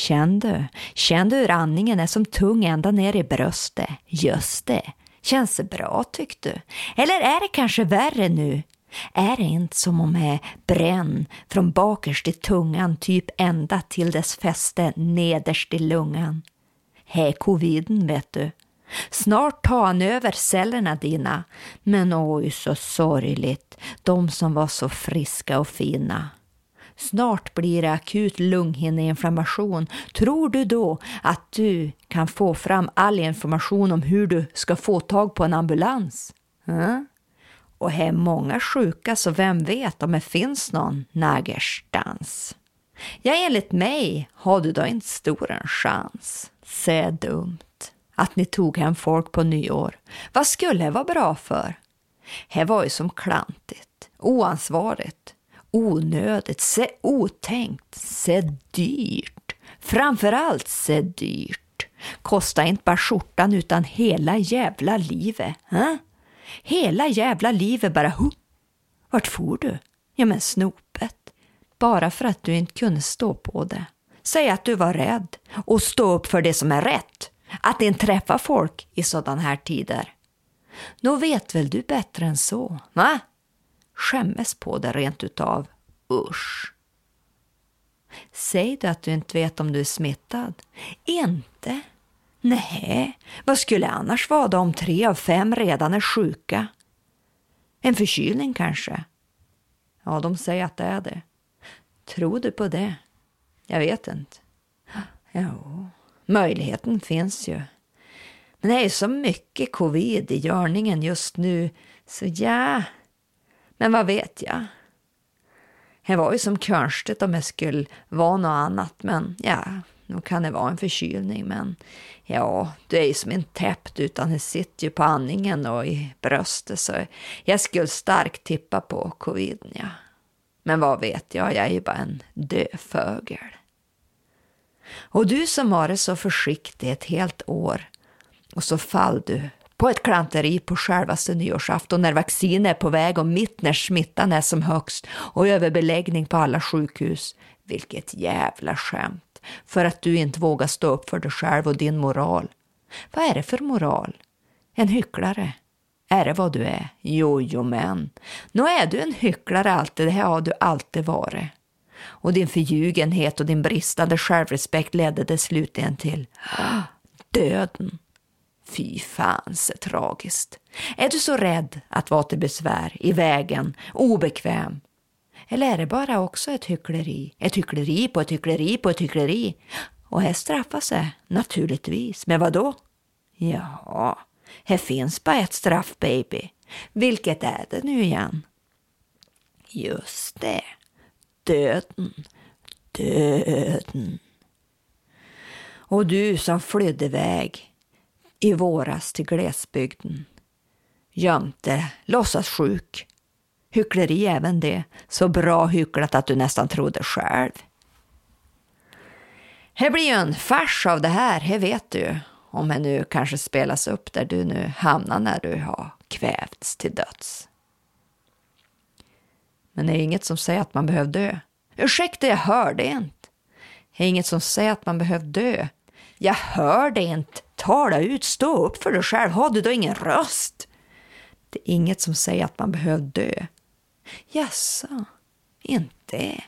Känn du hur andningen är som tung ända ner i bröstet? Just det. Känns det bra, tyckte du? Eller är det kanske värre nu? Är det inte som om jag bränn från bakerst i tungan typ ända till dess fäste nederst i lungan? Hej coviden, vet du. Snart tar han över cellerna dina. Men oj, så sorgligt. De som var så friska och fina. Snart blir det akut lunghinneinflammation. Tror du då att du kan få fram all information om hur du ska få tag på en ambulans? Och här är många sjuka, så vem vet om det finns någon nägerstans. Ja, enligt mig har du då inte stor en chans. Se dumt att ni tog hem folk på nyår. Vad skulle det vara bra för? Det var ju som klantigt, oansvarigt, onödigt, se otänkt, se dyrt. Framförallt se dyrt. Kostar inte bara skjortan utan hela jävla livet. Hela jävla livet bara. Vart får du? Ja, men snopet. Bara för att du inte kunde stå på det. Säg att du var rädd och stå upp för det som är rätt. Att inte träffa folk i sådana här tider. Nå vet väl du bättre än så, va? Skämmes på det rent utav. Usch. Säg du att du inte vet om du är smittad? Inte? Nej, vad skulle annars vara då om 3 av 5 redan är sjuka? En förkylning kanske? Ja, de säger att det är det. Tror du på det? Jag vet inte. Jo, möjligheten finns ju. Men det är så mycket covid i görningen just nu. Så ja, men vad vet jag? Det var ju som konstigt om det skulle vara något annat. Men ja, nu kan det vara en förkylning. Men ja, du är ju som en täppt utan det sitter ju på andningen och i bröstet. Så jag skulle starkt tippa på covid, ja. Men vad vet jag är ju bara en döfögel. Och du som har det så försiktig ett helt år. Och så fall du på ett klanteri på självaste nyårsafton när vaccin är på väg och mitt när smittan är som högst och överbeläggning på alla sjukhus. Vilket jävla skämt. För att du inte vågar stå upp för dig själv och din moral. Vad är det för moral? En hycklare? Är det vad du är? Jo men. Nå är du en hycklare alltid, det här har du alltid varit. Och din förljugenhet och din bristande självrespekt ledde det slutligen till döden. Fy fan, så tragiskt. Är du så rädd att vara till besvär, i vägen, obekväm? Eller är det bara också ett hyckleri? Ett hyckleri på ett hyckleri på ett hyckleri. Och här straffar sig, naturligtvis. Men vad då? Ja, här finns bara ett straff, baby. Vilket är det nu igen? Just det. döden, döden. Och du som flydde iväg i våras till glesbygden, gömte, låtsas sjuk. Hyckleri även det, så bra hycklat att du nästan trodde själv. Det blir ju en fars av det här vet du. Om det nu kanske spelas upp där du nu hamnar när du har kvävts till döds. Men det är inget som säger att man behöver dö. Ursäkta, jag hörde inte. Det är inget som säger att man behöver dö. Jag hörde inte. Tala ut, stå upp för dig själv. Har du då ingen röst? Det är inget som säger att man behöver dö. Jaså, inte.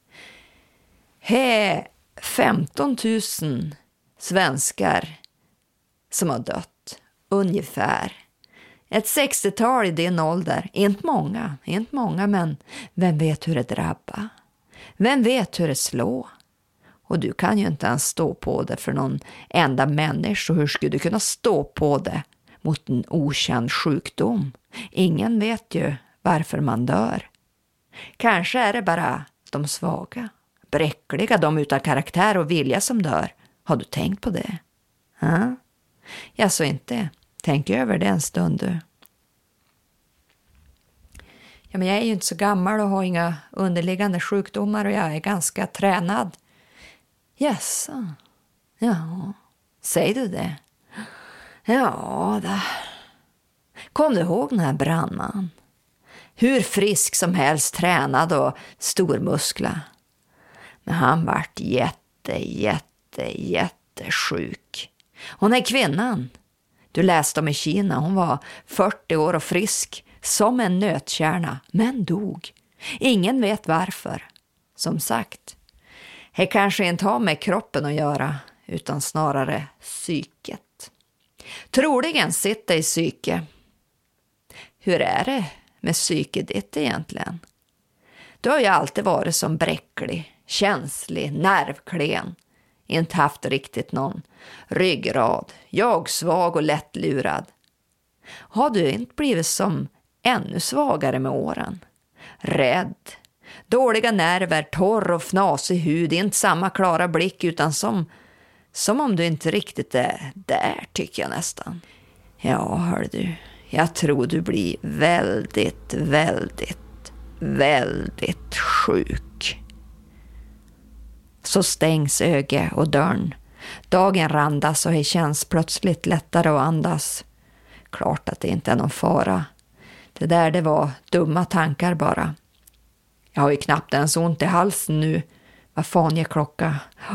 He 15 000 svenskar som har dött, ungefär. Ett 60-tal i din ålder. Inte många, men vem vet hur det drabbar? Vem vet hur det slår? Och du kan ju inte ens stå på det för någon enda människa. Så hur skulle du kunna stå på det mot en okänd sjukdom? Ingen vet ju varför man dör. Kanske är det bara de svaga, bräckliga, de utan karaktär och vilja som dör. Har du tänkt på det? Ja? Jag så inte. Tänk över det en stund du. Ja, men jag är ju inte så gammal och har inga underliggande sjukdomar och jag är ganska tränad. Jaså? Ja, säger du det? Ja, det. Kom du ihåg den här brandman? Hur frisk som helst, tränad och stormuskla. Men han vart jättesjuk. Hon är kvinnan. Du läste om i Kina. Hon var 40 år och frisk som en nötkärna, men dog. Ingen vet varför. Som sagt, det kanske inte har med kroppen att göra, utan snarare psyket. Troligen sitter i psyke. Hur är det med psyket ditt egentligen? Du har ju alltid varit som bräcklig, känslig, nervklen. Inte haft riktigt någon ryggrad. Jag svag och lättlurad. Har du inte blivit som ännu svagare med åren? Rädd. Dåliga nerver, torr och fnasig hud. Inte samma klara blick utan som om du inte riktigt är där, tycker jag nästan. Ja, hör du. Jag tror du blir väldigt sjuk. Så stängs öga och dörren. Dagen randas och det känns plötsligt lättare att andas. Klart att det inte är någon fara. Det var dumma tankar bara. Jag har ju knappt ens ont i halsen nu. Vad fan ger klocka?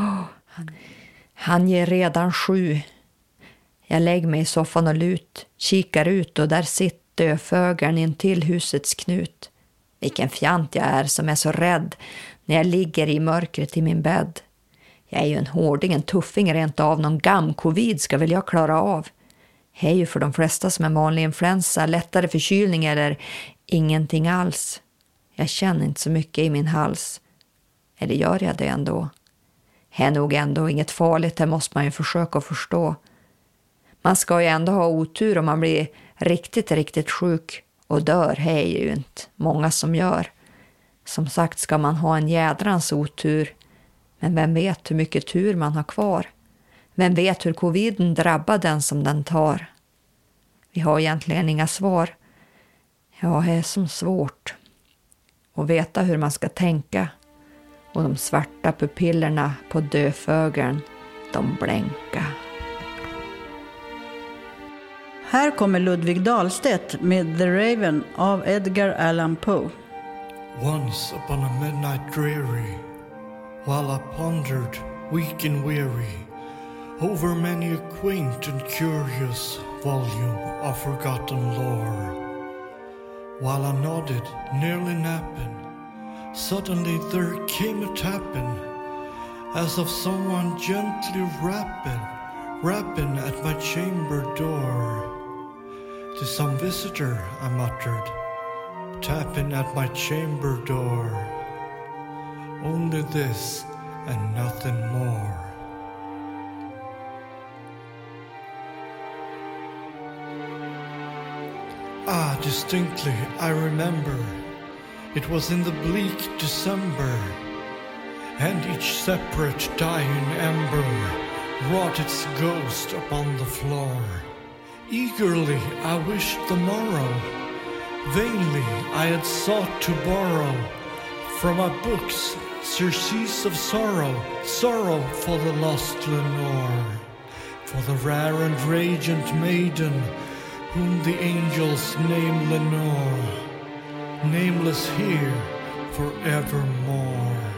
Han ger redan 7. Jag lägger mig i soffan och kikar ut och där sitter döfögaren in till husets knut. Vilken fjant jag är som är så rädd när jag ligger i mörkret i min bädd. Jag är ju en hårding, en tuffing rent av. Någon gamm-covid ska väl jag klara av. Det är ju för de flesta som är vanlig influensa, lättare förkylning eller ingenting alls. Jag känner inte så mycket i min hals. Eller gör jag det ändå? Det är nog ändå inget farligt, det måste man ju försöka förstå. Man ska ju ändå ha otur om man blir riktigt sjuk och dör. Det är ju inte många som gör. Som sagt ska man ha en jädrans otur. Men vem vet hur mycket tur man har kvar? Vem vet hur coviden drabbar den som den tar? Vi har egentligen inga svar. Ja, det är som svårt att veta hur man ska tänka. Och de svarta pupillerna på döfögeln, de blänka.
Här kommer Ludvig Dahlstedt med The Raven av Edgar Allan Poe.
Once upon a midnight dreary, while I pondered, weak and weary, over many a quaint and curious volume of forgotten lore, while I nodded, nearly napping, suddenly there came a tapping, as of someone gently rapping at my chamber door. To some visitor, I muttered, tapping at my chamber door. Only this and nothing more. Distinctly I remember It was in the bleak December, and each separate dying ember wrought its ghost upon the floor. Eagerly I wished the morrow, vainly I had sought to borrow from my books surcease of sorrow, sorrow for the lost Lenore, for the rare and radiant maiden whom the angels name Lenore, nameless here forevermore.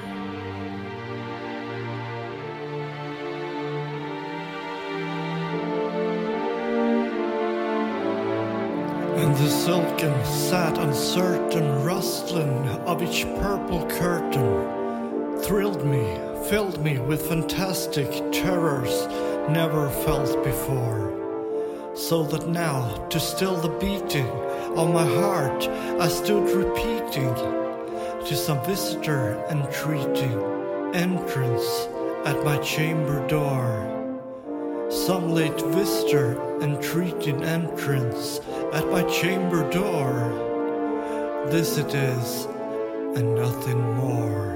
And the silken, sad, uncertain rustling of each purple curtain thrilled me, filled me with fantastic terrors never felt before. So that now, to still the beating of my heart, I stood repeating to some visitor entreating entrance at my chamber door. Some late visitor entreating entrance at my chamber door. This it is, and nothing more.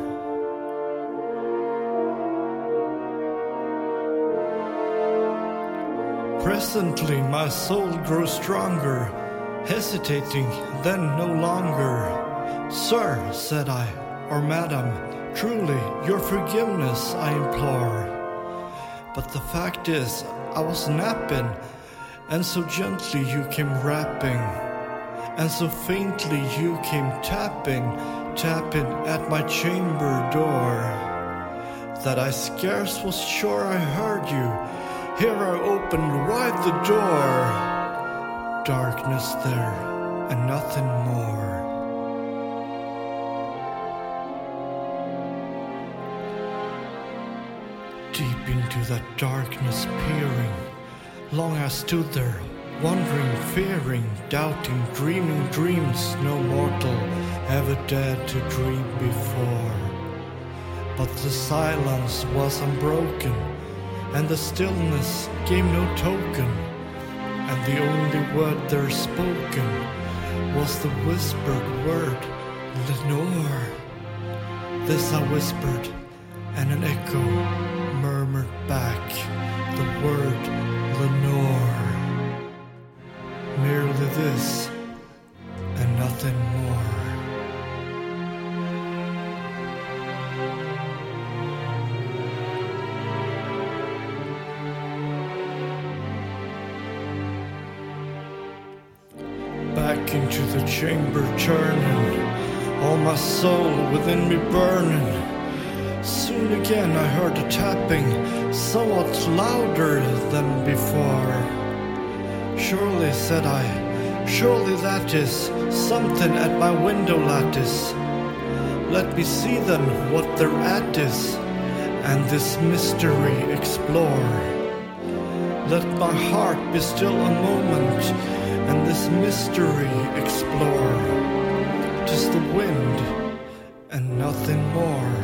Presently my soul grows stronger, hesitating then no longer. Sir, said I, or madam, truly your forgiveness I implore. But the fact is, I was napping, and so gently you came rapping, and so faintly you came tapping, tapping at my chamber door, that I scarce was sure I heard you. Here I opened wide the door. Darkness there, and nothing more. Deep into that darkness peering, long I stood there, wondering, fearing, doubting, dreaming dreams no mortal ever dared to dream before. But the silence was unbroken, and the stillness gave no token, and the only word there spoken was the whispered word, Lenore. This I whispered, and an echo murmured back the word Lenore. Merely this, and nothing more. Back into the chamber turning, all my soul within me burning. Soon again I heard a tapping, somewhat louder than before. Surely, said I, surely that is something at my window lattice. Let me see then what their at is, and this mystery explore. Let my heart be still a moment, and this mystery explore. 'Tis the wind, and nothing more.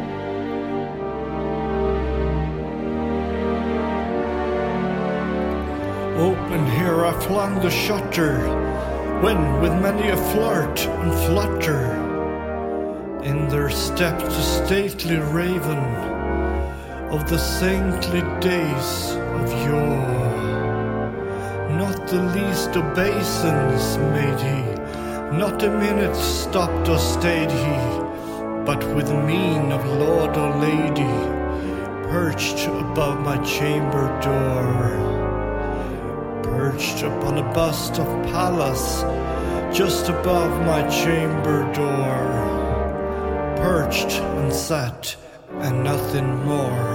Open here I flung the shutter, when with many a flirt and flutter, in there stepped the stately raven of the saintly days of yore. Not the least obeisance made he, not a minute stopped or stayed he, but with mien of lord or lady, perched above my chamber door. Perched upon a bust of Pallas, just above my chamber door. Perched and sat, and nothing more.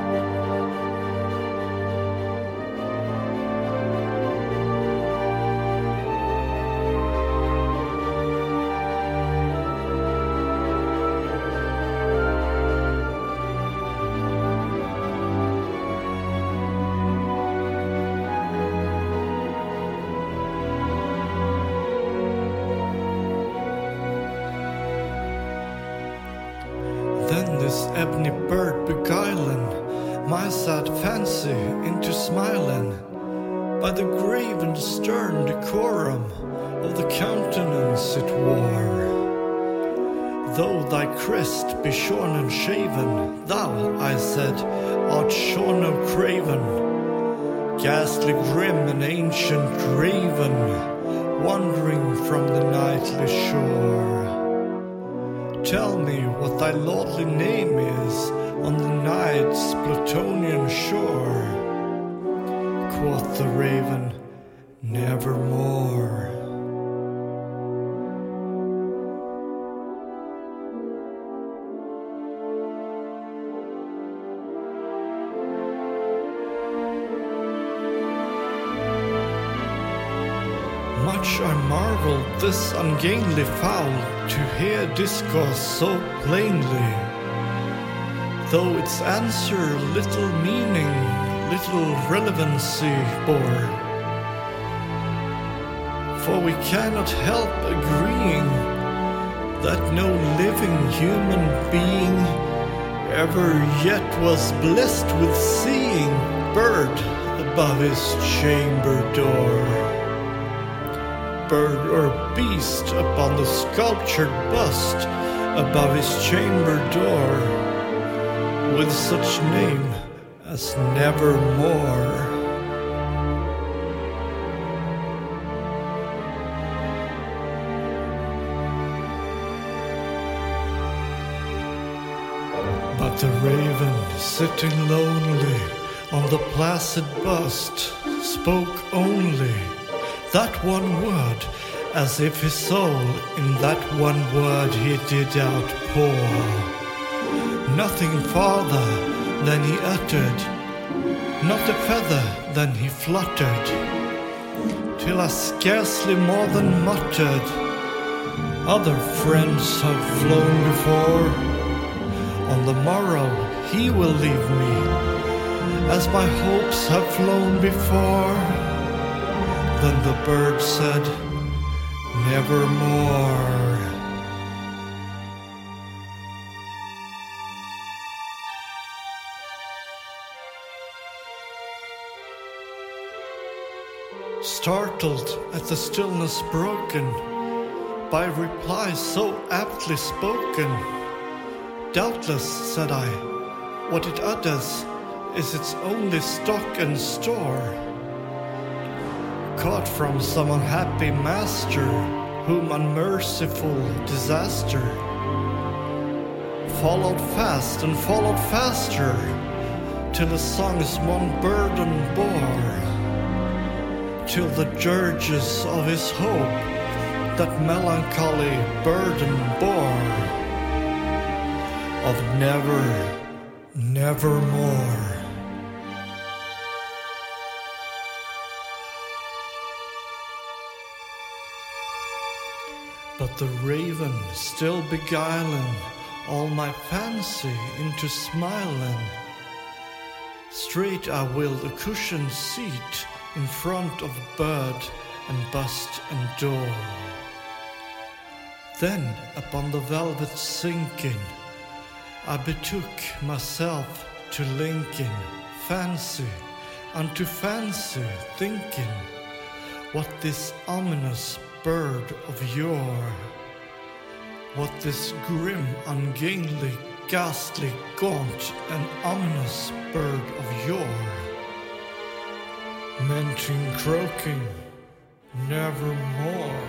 Then this ebony bird beguiling my sad fancy into smiling, by the grave and stern decorum of the countenance it wore, Though thy crest be shorn and shaven, thou, I said, art shorn no craven, ghastly grim and ancient raven, wandering from the nightly shore. Tell me what thy lordly name is on the night's Plutonian shore. Quoth the raven, nevermore. Much I marveled this ungainly fowl to hear discourse so plainly, though its answer little meaning, little relevancy bore. For we cannot help agreeing that no living human being ever yet was blessed with seeing bird above his chamber door. Bird or beast upon the sculptured bust above his chamber door, with such name as nevermore. But the raven, sitting lonely on the placid bust, spoke only that one word, as if his soul in that one word he did outpour. Nothing farther than he uttered, not a feather than he fluttered, till I scarcely more than muttered, other friends have flown before. On the morrow he will leave me, as my hopes have flown before. Then the bird said, nevermore. Startled at the stillness broken by replies so aptly spoken, doubtless, said I, what it utters is its only stock and store, caught from some unhappy master, whom unmerciful disaster followed fast and followed faster, till the song's one burden bore, till the dirges of his hope that melancholy burden bore, of nevermore. But the raven still beguiling all my fancy into smiling, straight I willed a cushioned seat in front of bird and bust and door. Then upon the velvet sinking, I betook myself to linking fancy unto fancy, thinking what this ominous bird of yore, what this grim, ungainly, ghastly, gaunt, and ominous bird of yore meant in croaking nevermore.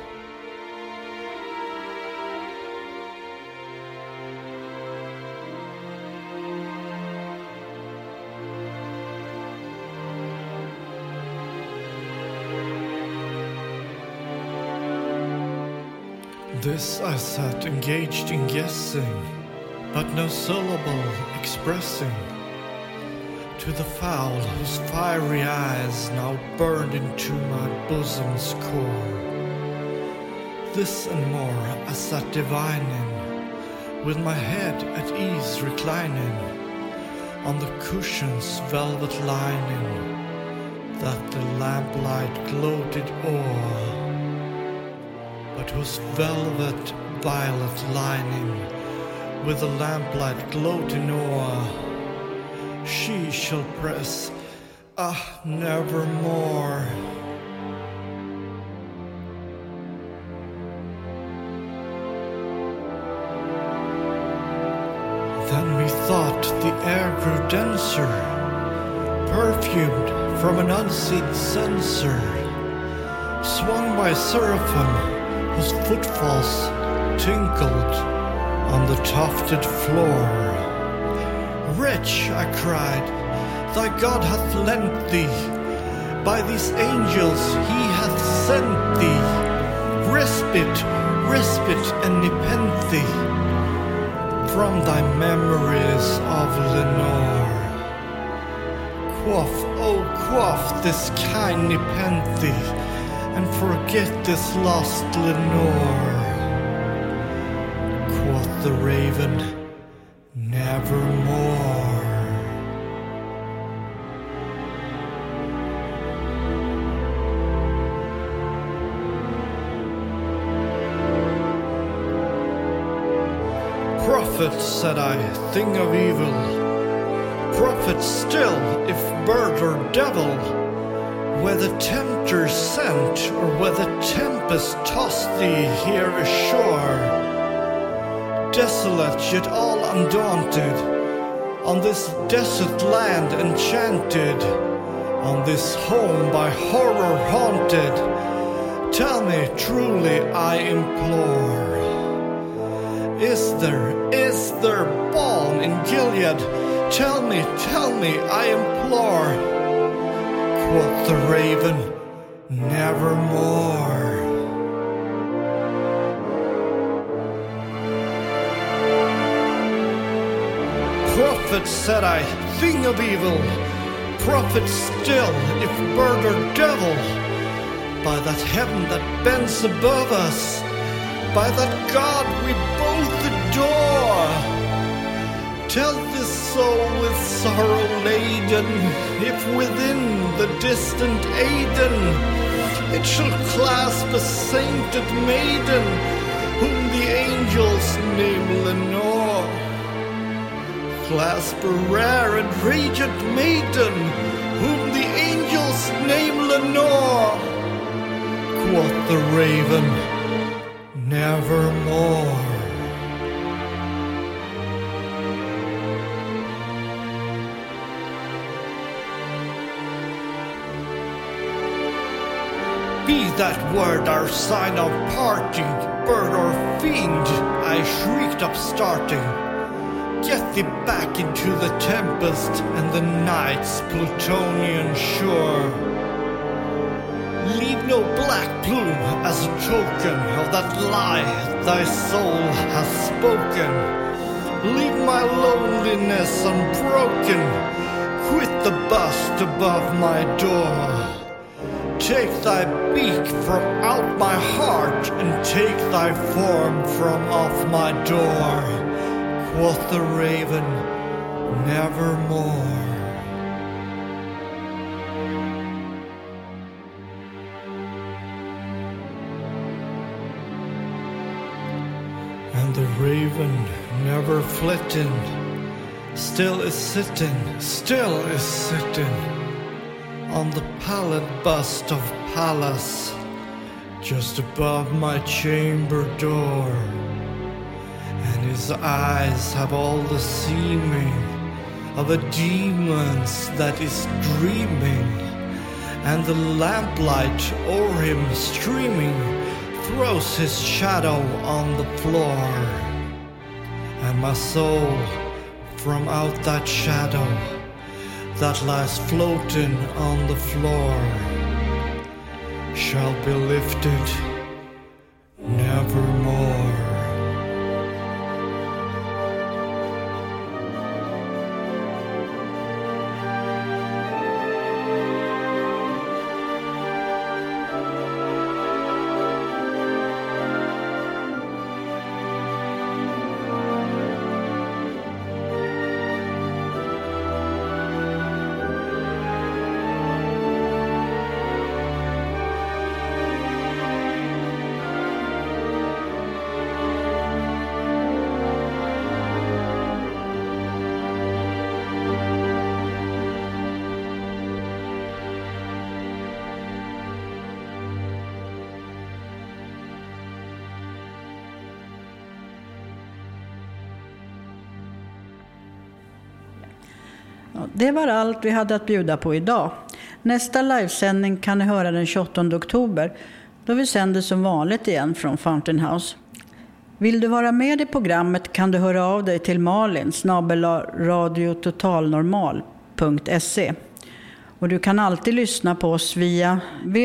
This I sat engaged in guessing, but no syllable expressing, to the fowl whose fiery eyes now burned into my bosom's core. This and more I sat divining, with my head at ease reclining on the cushion's velvet lining, that the lamplight gloated o'er, but whose velvet violet lining with the lamplight gloating o'er, she shall press, nevermore. Then methought the air grew denser, perfumed from an unseen censer, swung by seraphim whose footfalls tinkled on the tufted floor. Rich, I cried, thy God hath lent thee, by these angels he hath sent thee, respite, respite and nepenthe from thy memories of Lenore. Quaff, oh quaff this kind nepenthe, and forget this lost Lenore. Quoth the raven, nevermore. Prophet, said I, thing of evil, prophet still, if bird or devil, whether tempter sent or whether tempest tossed thee here ashore, desolate yet all undaunted, on this desert land enchanted, on this home by horror haunted, tell me truly I implore, is there balm in Gilead? Tell me, I implore. Quoth the raven, nevermore. Prophet, said I, thing of evil, prophet still, if bird or devil, by that heaven that bends above us, by that God we both adore, tell this soul with sorrow laden, if within the distant Aidenn it shall clasp a sainted maiden, whom the angels name Lenore, clasp a rare and radiant maiden, whom the angels name Lenore. Quoth the raven, nevermore. Be that word our sign of parting, bird or fiend, I shrieked upstarting. Get thee back into the tempest and the night's Plutonian shore. Leave no black plume as a token of that lie thy soul hath spoken. Leave my loneliness unbroken, quit the bust above my door. Take thy beak from out my heart, and take thy form from off my door. Quoth the raven, nevermore. And the raven, never flitting, still is sitting on the pallid bust of Pallas, just above my chamber door. And his eyes have all the seeming of a demon's that is dreaming, and the lamplight o'er him streaming throws his shadow on the floor. And my soul from out that shadow that lies floating on the floor shall be lifted nevermore.
Det var allt vi hade att bjuda på idag. Nästa livesändning kan ni höra den 28 oktober då vi sänder som vanligt igen från Fountain House. Vill du vara med i programmet kan du höra av dig till Malin @radiototalnormal.se. Och du kan alltid lyssna på oss via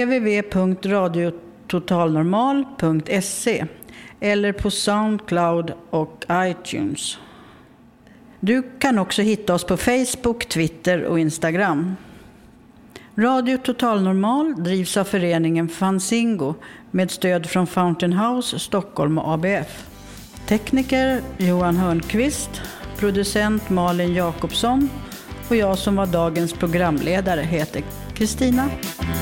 www.radiototalnormal.se eller på Soundcloud och iTunes. Du kan också hitta oss på Facebook, Twitter och Instagram. Radio Total Normal drivs av föreningen Fanzingo med stöd från Fountain House, Stockholm och ABF. Tekniker Johan Hörnqvist, producent Malin Jakobsson och jag som var dagens programledare heter Kristina.